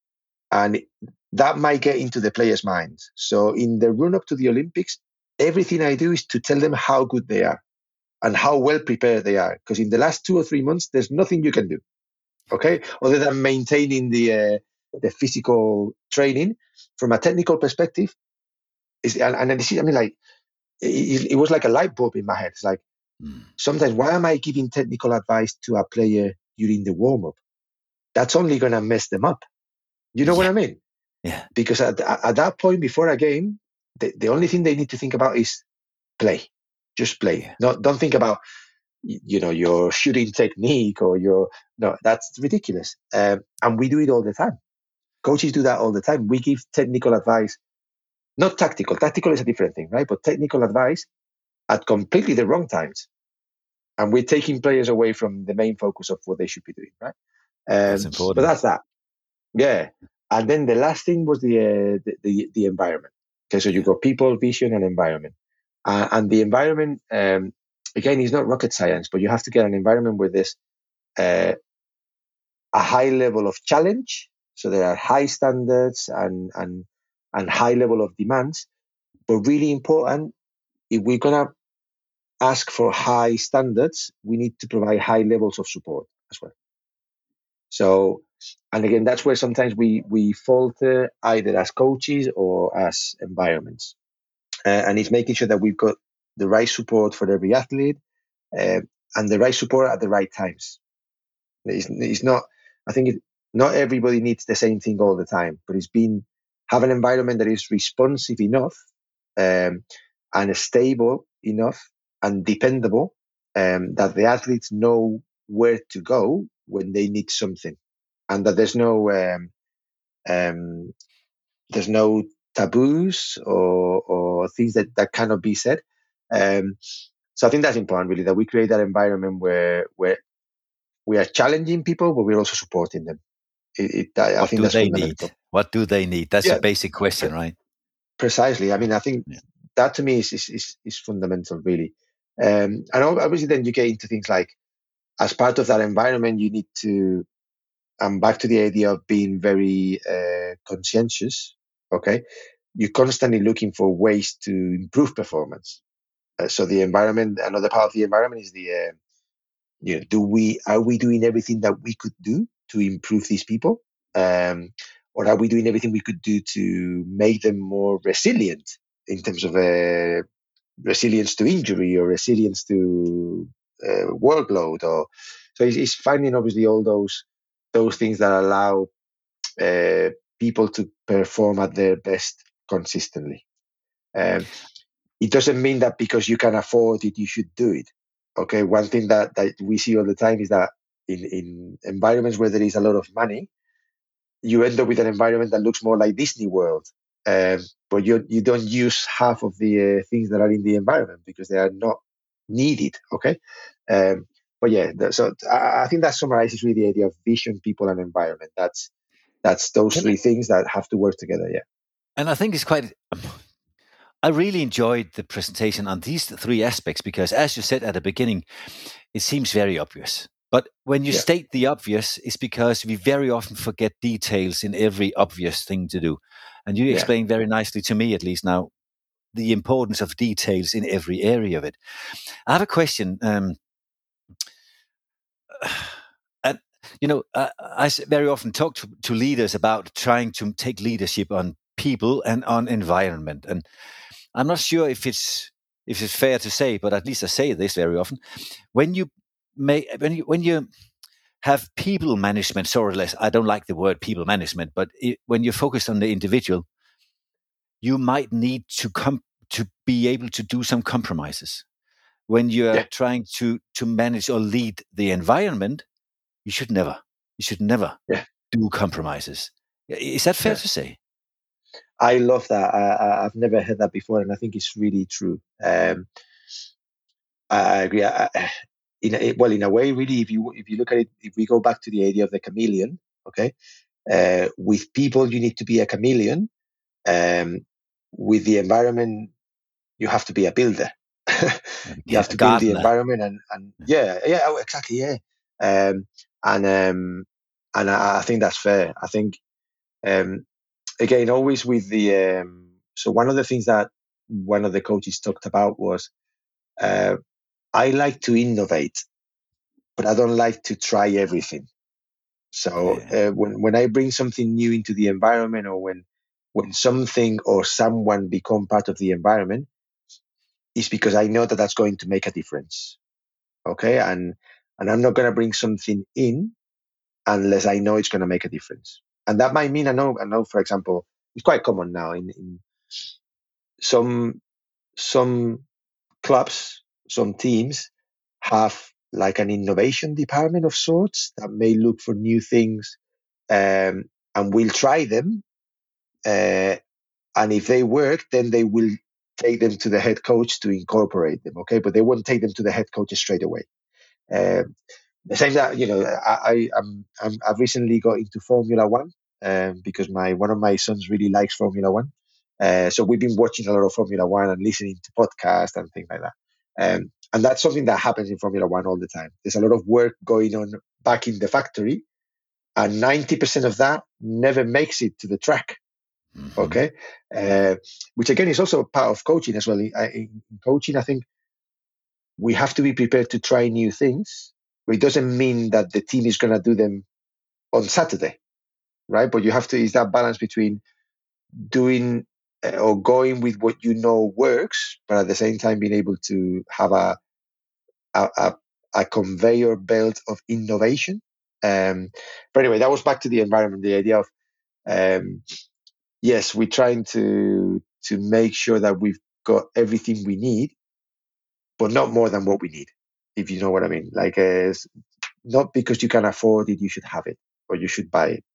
And that might get into the players' minds. So in the run up to the Olympics, everything I do is to tell them how good they are and how well prepared they are. Because in the last two or three months, there's nothing you can do, okay, other than maintaining the uh, the physical training. From a technical perspective, is and, and this is, I mean, like it, it was like a light bulb in my head. It's like mm. sometimes why am I giving technical advice to a player during the warm up? That's only going to mess them up. You know yeah. what I mean? Yeah. Because at, at that point before a game, the, the only thing they need to think about is play. Just play. Yeah. Not don't think about you know your shooting technique or your no. That's ridiculous. Um, and we do it all the time. Coaches do that all the time. We give technical advice, not tactical. Tactical is a different thing, right? But technical advice at completely the wrong times, and we're taking players away from the main focus of what they should be doing, right? Um, that's important. But that's that. Yeah. And then the last thing was the uh, the, the, the environment. Okay, so you've got people, vision, and environment. Uh, and the environment, um, again, is not rocket science, but you have to get an environment where there's uh, a high level of challenge. So there are high standards and and and high level of demands. But really important, if we're gonna ask for high standards, we need to provide high levels of support as well. So, and again, that's where sometimes we we falter either as coaches or as environments. Uh, and it's making sure that we've got the right support for every athlete uh, and the right support at the right times. It's, it's not, I think it, not everybody needs the same thing all the time, but it's been, have an environment that is responsive enough um, and stable enough and dependable um, that the athletes know where to go when they need something, and that there's no um, um, there's no taboos or, or things that, that cannot be said. Um, so I think that's important, really, that we create that environment where where we are challenging people, but we're also supporting them. It, it, I, what I think do that's they fundamental. need? What do they need? That's yeah. a basic question, right? Precisely. I mean, I think yeah. that to me is is, is, is fundamental, really. Um, and obviously, then you get into things like, as part of that environment, you need to, and back to the idea of being very uh, conscientious, okay? You're constantly looking for ways to improve performance. Uh, so the environment, another part of the environment is the, uh, you know, do we, are we doing everything that we could do to improve these people? Um, or are we doing everything we could do to make them more resilient in terms of uh, resilience to injury or resilience to uh, workload? Or so it's, it's finding obviously all those those things that allow uh, people to perform at their best consistently. Um, it doesn't mean that because you can afford it, you should do it. Okay, one thing that, that we see all the time is that in, in environments where there is a lot of money, you end up with an environment that looks more like Disney World, um, but you you don't use half of the uh, things that are in the environment because they are not needed. Okay, um, but yeah, the, so I, I think that summarizes really the idea of vision, people, and environment. That's that's those Can three I- things that have to work together. Yeah. And I think it's quite. I really enjoyed the presentation on these three aspects because, as you said at the beginning, it seems very obvious. But when you Yeah. state the obvious, it's because we very often forget details in every obvious thing to do. And you Yeah. explained very nicely to me, at least now, the importance of details in every area of it. I have a question. Um, and, you know, I, I very often talk to, to leaders about trying to take leadership on people and on environment. And I'm not sure if it's if it's fair to say, but at least I say this very often. When you may when you when you have people management, so or less, I don't like the word people management, but it, when you're focused on the individual, you might need to come to be able to do some compromises. When you're Yeah. trying to to manage or lead the environment, you should never, you should never Yeah. do compromises. Is that fair Yeah. to say? I love that. I, I, I've never heard that before, and I think it's really true. Um, I, I agree. I, I, in a, well, in a way, really, if you if you look at it, if we go back to the idea of the chameleon, okay, uh, with people you need to be a chameleon. Um, with the environment, you have to be a builder. You have A to build the gardener. environment, and and yeah, yeah, oh, exactly, yeah. Um, and um, and I, I think that's fair. I think um, again, always with the um, so one of the things that one of the coaches talked about was uh, I like to innovate, but I don't like to try everything. So Yeah. uh, when when I bring something new into the environment, or when when something or someone become part of the environment, it's because I know that that's going to make a difference. Okay, and and I'm not going to bring something in unless I know it's going to make a difference. And that might mean I know I know, for example, it's quite common now in, in some some clubs, some teams have like an innovation department of sorts that may look for new things, um, and will try them. Uh, and if they work, then they will take them to the head coach to incorporate them. Okay, but they won't take them to the head coach straight away. Um, the same that you know, I, I I'm, I'm I've recently got into Formula One um, because my one of my sons really likes Formula One. Uh, so we've been watching a lot of Formula One and listening to podcasts and things like that. Um, and that's something that happens in Formula One all the time. There's a lot of work going on back in the factory, and ninety percent of that never makes it to the track. Mm-hmm. Okay, uh, which again is also part of coaching as well. In, in coaching, I think we have to be prepared to try new things, but it doesn't mean that the team is going to do them on Saturday, right? But you have to, is that balance between doing uh, or going with what you know works, but at the same time being able to have a a, a, a conveyor belt of innovation. Um, but anyway, that was back to the environment, the idea of, um, yes, we're trying to to make sure that we've got everything we need, but not more than what we need, if you know what I mean. Like, uh, not because you can afford it, you should have it, or you should buy it.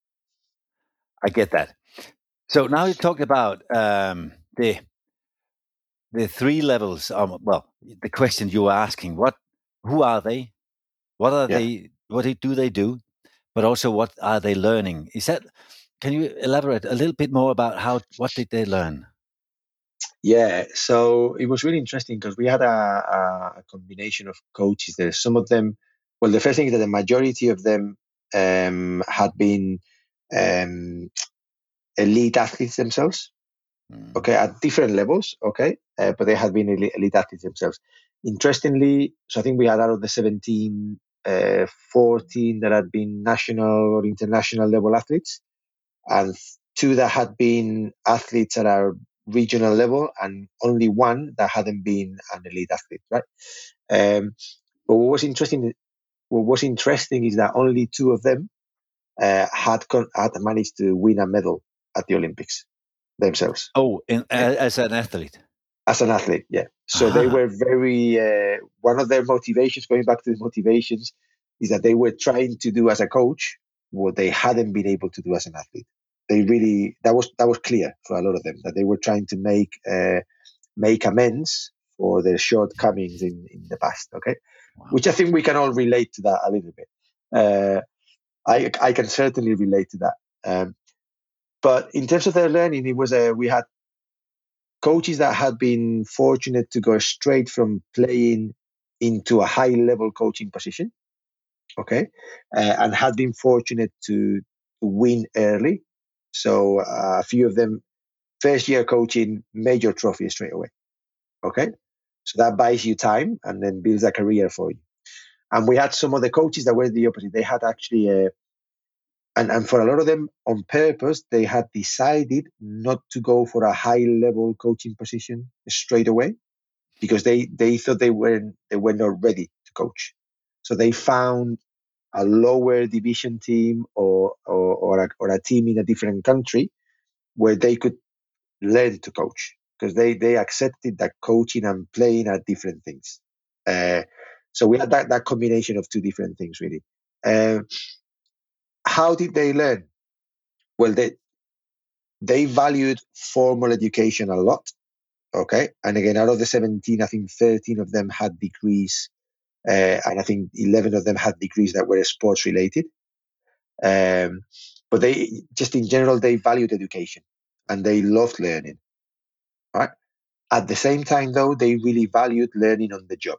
I get that. So now you talked about um, the the three levels. Of, well, the question you were asking: what, who are they? What are Yeah. they? What do they do? But also, what are they learning? Is that? Can you elaborate a little bit more about how? What did they learn? Yeah, so it was really interesting because we had a, a combination of coaches there. Some of them, well, the first thing is that the majority of them um, had been um, elite athletes themselves, mm. okay, at different levels, okay, uh, but they had been elite, elite athletes themselves. Interestingly, so I think we had out of the seventeen, uh, fourteen that had been national or international level athletes, and two that had been athletes at our regional level, and only one that hadn't been an elite athlete, right? Um, but what was interesting, what was interesting is that only two of them uh, had con- had managed to win a medal at the Olympics. themselves. Oh, in, uh, as an athlete. As an athlete, yeah. So ah. they were very, uh, one of their motivations, going back to the motivations, is that they were trying to do as a coach what they hadn't been able to do as an athlete. They really, that was that was clear for a lot of them, that they were trying to make uh, make amends for their shortcomings in, in the past, okay? Wow. Which I think we can all relate to that a little bit. Uh, I I can certainly relate to that. Um, but in terms of their learning, it was a, we had coaches that had been fortunate to go straight from playing into a high-level coaching position, okay, uh, and had been fortunate to, to win early. So uh, a few of them, first-year coaching, major trophy straight away, okay? So that buys you time and then builds a career for you. And we had some of the coaches that were the opposite. They had actually, a, and, and for a lot of them on purpose, they had decided not to go for a high-level coaching position straight away because they, they thought they weren't, they were not ready to coach. So they found a lower division team or, or, or, a, or a team in a different country where they could learn to coach, because they, they accepted that coaching and playing are different things. Uh, so we had that, that combination of two different things, really. Uh, how did they learn? Well, they they valued formal education a lot, okay? And again, out of the seventeen, I think thirteen of them had degrees, uh, and I think eleven of them had degrees that were sports related. Um, but they, just in general, they valued education and they loved learning, right? At the same time, though, they really valued learning on the job.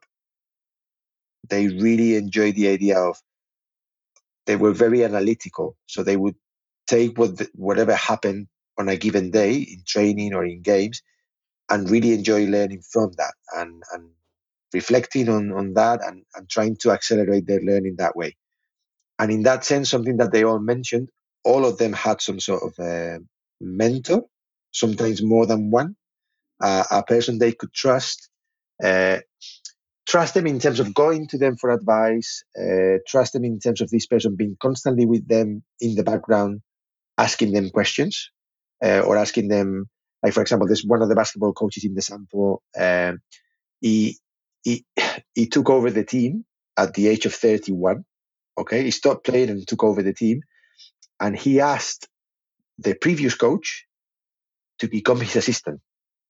They really enjoyed the idea of, they were very analytical. So they would take what the, whatever happened on a given day in training or in games and really enjoy learning from that and, and reflecting on, on that and, and trying to accelerate their learning that way. And in that sense, something that they all mentioned, all of them had some sort of a mentor, sometimes more than one, uh, a person they could trust, uh, trust them in terms of going to them for advice, uh, trust them in terms of this person being constantly with them in the background, asking them questions, uh, or asking them, like, for example, there's one of the basketball coaches in the sample, um, he, he, he took over the team at the age of thirty-one. Okay, he stopped playing and took over the team, and he asked the previous coach to become his assistant.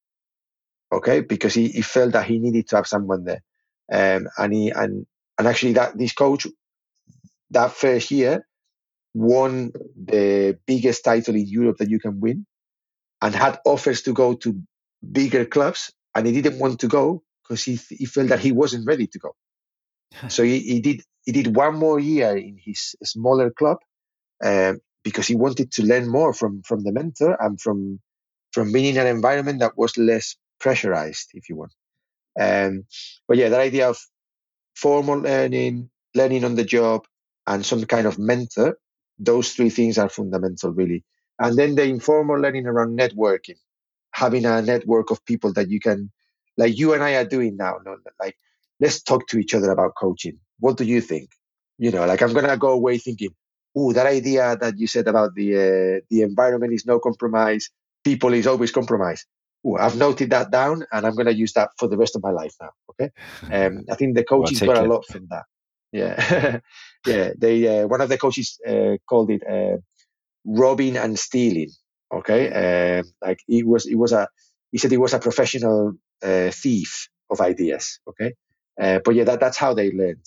Okay, because he, he felt that he needed to have someone there, um, and he and and actually that this coach that first year won the biggest title in Europe that you can win, and had offers to go to bigger clubs, and he didn't want to go because he he felt that he wasn't ready to go. So he, he did he did one more year in his smaller club. Um, because he wanted to learn more from, from the mentor and from from being in an environment that was less pressurized, if you want. Um, but yeah, that idea of formal learning, learning on the job, and some kind of mentor, those three things are fundamental, really. And then the informal learning around networking, having a network of people that you can, like you and I are doing now, no, like, let's talk to each other about coaching. What do you think? You know, like I'm going to go away thinking, oh, that idea that you said about the uh, the environment is no compromise, people is always compromise. Oh, I've noted that down, and I'm going to use that for the rest of my life now. Okay, um, I think the coaches got a lot from that. Yeah, yeah. They uh, one of the coaches uh, called it uh, robbing and stealing. Okay, uh, like he was, he was a, he said he was a professional uh, thief of ideas. Okay, uh, but yeah, that that's how they learned.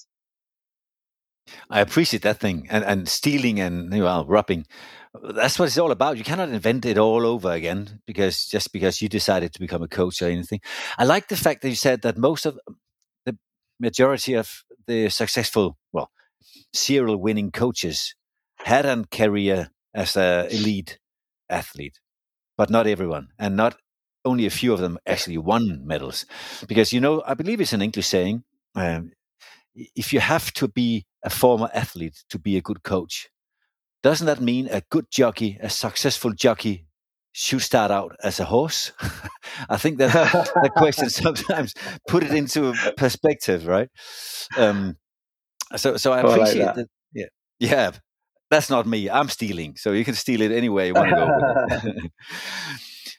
I appreciate that thing, and, and stealing and well, robbing. That's what it's all about. You cannot invent it all over again because just because you decided to become a coach or anything. I like the fact that you said that most of the majority of the successful, well, serial winning coaches had a career as an elite athlete, but not everyone, and not only a few of them actually won medals. Because, you know, I believe it's an English saying, um, if you have to be a former athlete to be a good coach, doesn't that mean a good jockey, a successful jockey, should start out as a horse? I think that the question sometimes put it into perspective, right? Um, so, so I appreciate oh, I like that. that. Yeah, yeah. That's not me. I'm stealing, so you can steal it anywhere you want to go.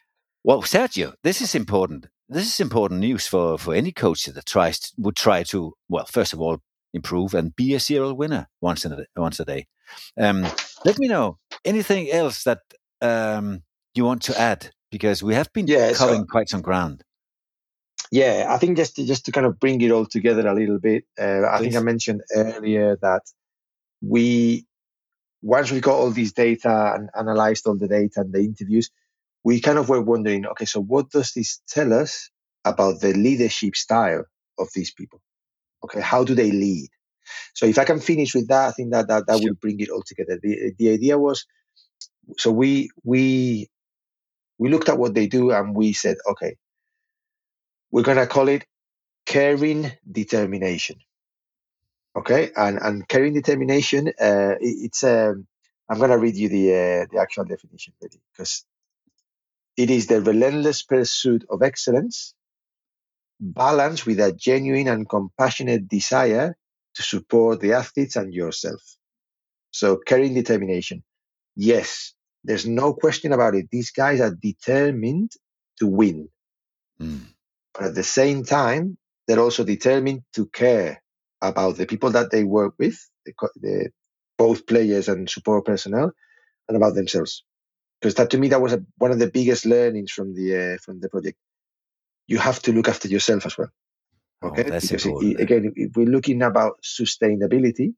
Well, Sergio, this is important. This is important news for, for any coach that tries to, would try to, well, first of all, improve and be a serial winner once in a, once a day. Um, let me know anything else that um, you want to add, because we have been yeah, covering so, quite some ground. Yeah, I think just to, just to kind of bring it all together a little bit, uh, I think I mentioned earlier that we, once we got all these data and analyzed all the data and the interviews, we kind of were wondering, okay, so what does this tell us about the leadership style of these people? Okay, how do they lead? So if I can finish with that, I think that that, that Sure. will bring it all together. The the idea was, so we we we looked at what they do and we said, okay, we're gonna call it caring determination. Okay, and and caring determination, uh, it, it's um, I'm gonna read you the uh, the actual definition really, because it is the relentless pursuit of excellence, balanced with a genuine and compassionate desire to support the athletes and yourself. So caring determination. Yes, there's no question about it. These guys are determined to win. Mm. But at the same time, they're also determined to care about the people that they work with, the, the, both players and support personnel, and about themselves. Because that, to me, that was a, one of the biggest learnings from the uh, from the project. You have to look after yourself as well. Okay, oh, that's because it, important. it, again, if we're looking about sustainability,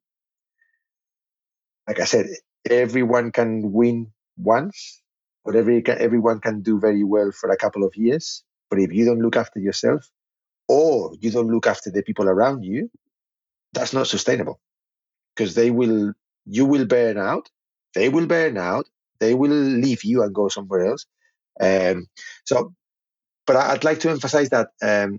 like I said, everyone can win once, but every everyone can do very well for a couple of years. But if you don't look after yourself, or you don't look after the people around you, that's not sustainable, because they will, you will burn out, they will burn out, they will leave you and go somewhere else. Um, so, but I'd like to emphasize that um,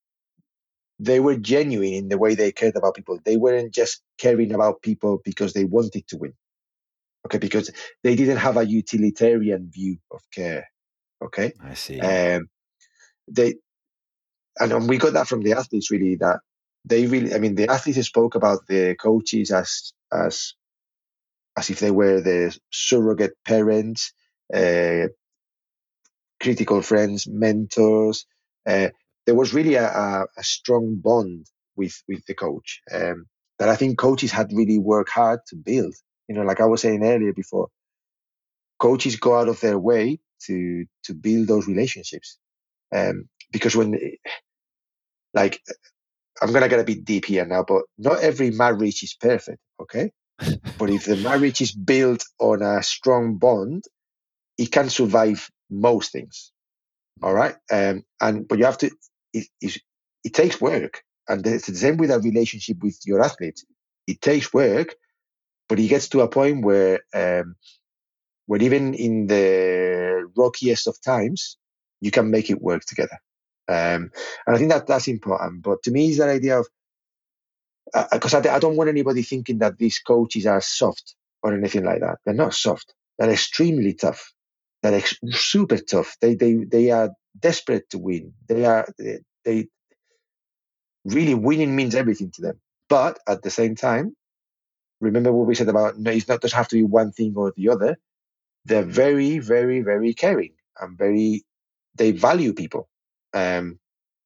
they were genuine in the way they cared about people. They weren't just caring about people because they wanted to win. Okay, because they didn't have a utilitarian view of care. Okay, I see. Um, they and we got that from the athletes really. That they really, I mean, the athletes spoke about the coaches as as as if they were the surrogate parents, uh, critical friends, mentors. Uh, there was really a, a, a strong bond with with the coach um, that I think coaches had really worked hard to build. You know, like I was saying earlier before, coaches go out of their way to to build those relationships. Um, because when, like, I'm gonna get a bit deep here now, but not every marriage is perfect, okay? But if the marriage is built on a strong bond, it can survive most things. All right, um, and but you have to. It, it, it takes work, and it's the same with a relationship with your athletes. It takes work, but it gets to a point where, um, where even in the rockiest of times, you can make it work together. Um, and I think that that's important. But to me, it's that idea of, because uh, I, I don't want anybody thinking that these coaches are soft or anything like that. They're not soft. They're extremely tough. They're ex- super tough. They they they are desperate to win. They are they, they really, winning means everything to them. But at the same time, remember what we said about, no, it's not just have to be one thing or the other. They're very, very, very caring and very. They value people. Um,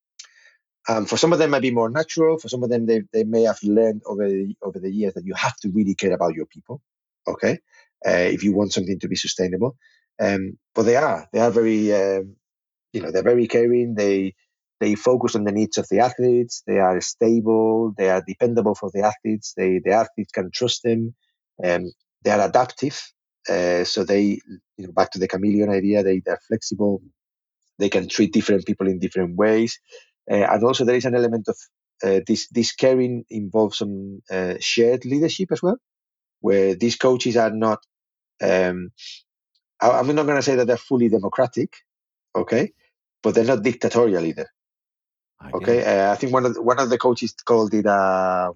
Um, for some of them, it might be more natural. For some of them, they, they may have learned over the, over the years that you have to really care about your people, okay, uh, if you want something to be sustainable. Um, but they are they are very um, you know they're very caring. They they focus on the needs of the athletes. They are stable. They are dependable for the athletes. They the athletes can trust them. Um, they are adaptive. Uh, so they, you know, back to the chameleon idea. They they're flexible. They can treat different people in different ways. Uh, and also there is an element of uh, this, this caring involves some uh, shared leadership as well, where these coaches are not, um, I, I'm not going to say that they're fully democratic, okay, but they're not dictatorial either. Okay, uh, I think one of the, one of the coaches called it a,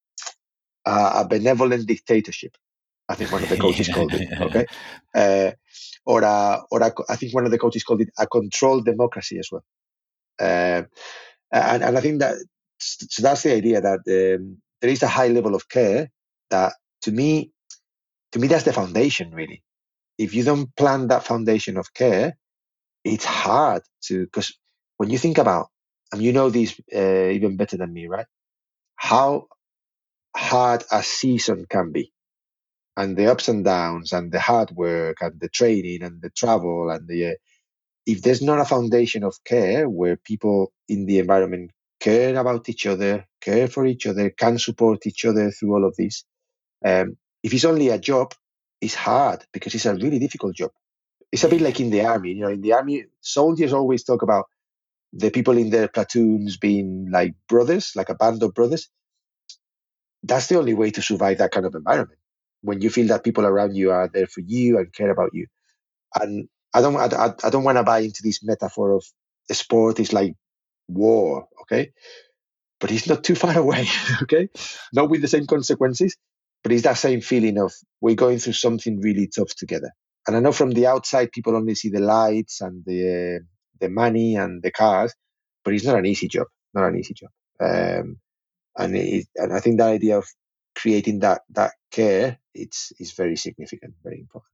a, a benevolent dictatorship. I think one of the coaches called it, okay, uh, or a, or a, I think one of the coaches called it a controlled democracy as well. Uh, and, and I think that so that's the idea, that um, there is a high level of care that, to me, to me that's the foundation really. If you don't plant that foundation of care, it's hard to, because when you think about, and you know this uh, even better than me, right? How hard a season can be, and the ups and downs, and the hard work, and the training, and the travel, and the uh, if there's not a foundation of care where people in the environment care about each other, care for each other, can support each other through all of this. Um, if it's only a job, it's hard because it's a really difficult job. It's a bit like in the army. You know, in the army, soldiers always talk about the people in their platoons being like brothers, like a band of brothers. That's the only way to survive that kind of environment. When you feel that people around you are there for you and care about you. And I don't, I, I don't want to buy into this metaphor of the sport is like war, okay? But it's not too far away, okay? Not with the same consequences, but it's that same feeling of we're going through something really tough together. And I know from the outside, people only see the lights and the uh, the money and the cars, but it's not an easy job, not an easy job. Um, and it, and I think that idea of creating that that care, it's is very significant, very important.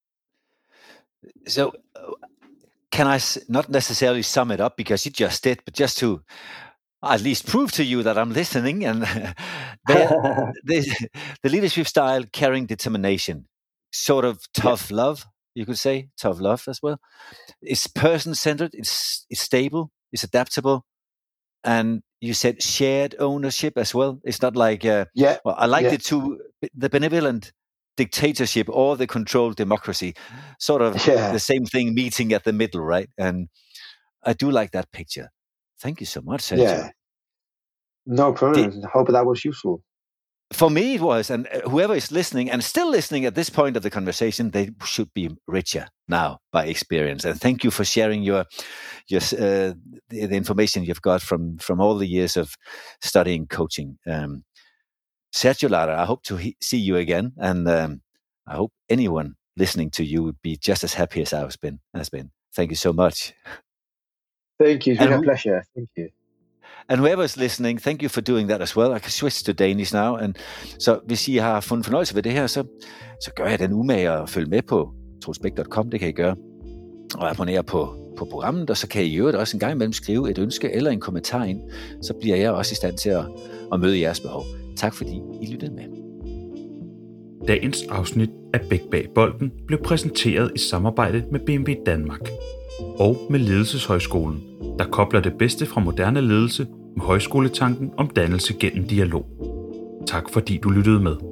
So, uh, can I s- not necessarily sum it up because you just did, but just to at least prove to you that I'm listening, and the, the, the leadership style, caring, determination, sort of tough yeah. love, you could say, tough love as well. It's person-centered, it's it's stable, it's adaptable, and you said shared ownership as well. It's not like, uh, yeah, well, I like yeah. the two, the benevolent dictatorship or the controlled democracy, sort of yeah. the same thing meeting at the middle, right? And I do like that picture. Thank you so much, Sergio. Yeah, no problem. Did, I hope that was useful. For me, it was. And whoever is listening and still listening at this point of the conversation, they should be richer now by experience. And thank you for sharing your your uh, the, the information you've got from, from all the years of studying coaching. Um, Sergio Lara, I hope to he- see you again. And um, I hope anyone listening to you would be just as happy as I've been. Has been. Thank you so much. Thank you. It's been and a pleasure. Thank you. And whoever's listening, thank you for doing that as well. I can switch to Danish now. And så hvis I har fundet fornøjelse ved det her, så, så gør jeg den umage og følg med på troels bech punktum com. Det kan I gøre. Og abonnere på, på programmet, og så kan I i øvrigt også en gang imellem skrive et ønske eller en kommentar ind. Så bliver jeg også i stand til at, at møde jeres behov. Tak fordi I lyttede med. Dagens afsnit af Bech bag bolden blev præsenteret i samarbejde med B M W Danmark og med Ledelseshøjskolen, der kobler det bedste fra moderne ledelse med højskoletanken om dannelse gennem dialog. Tak fordi du lyttede med.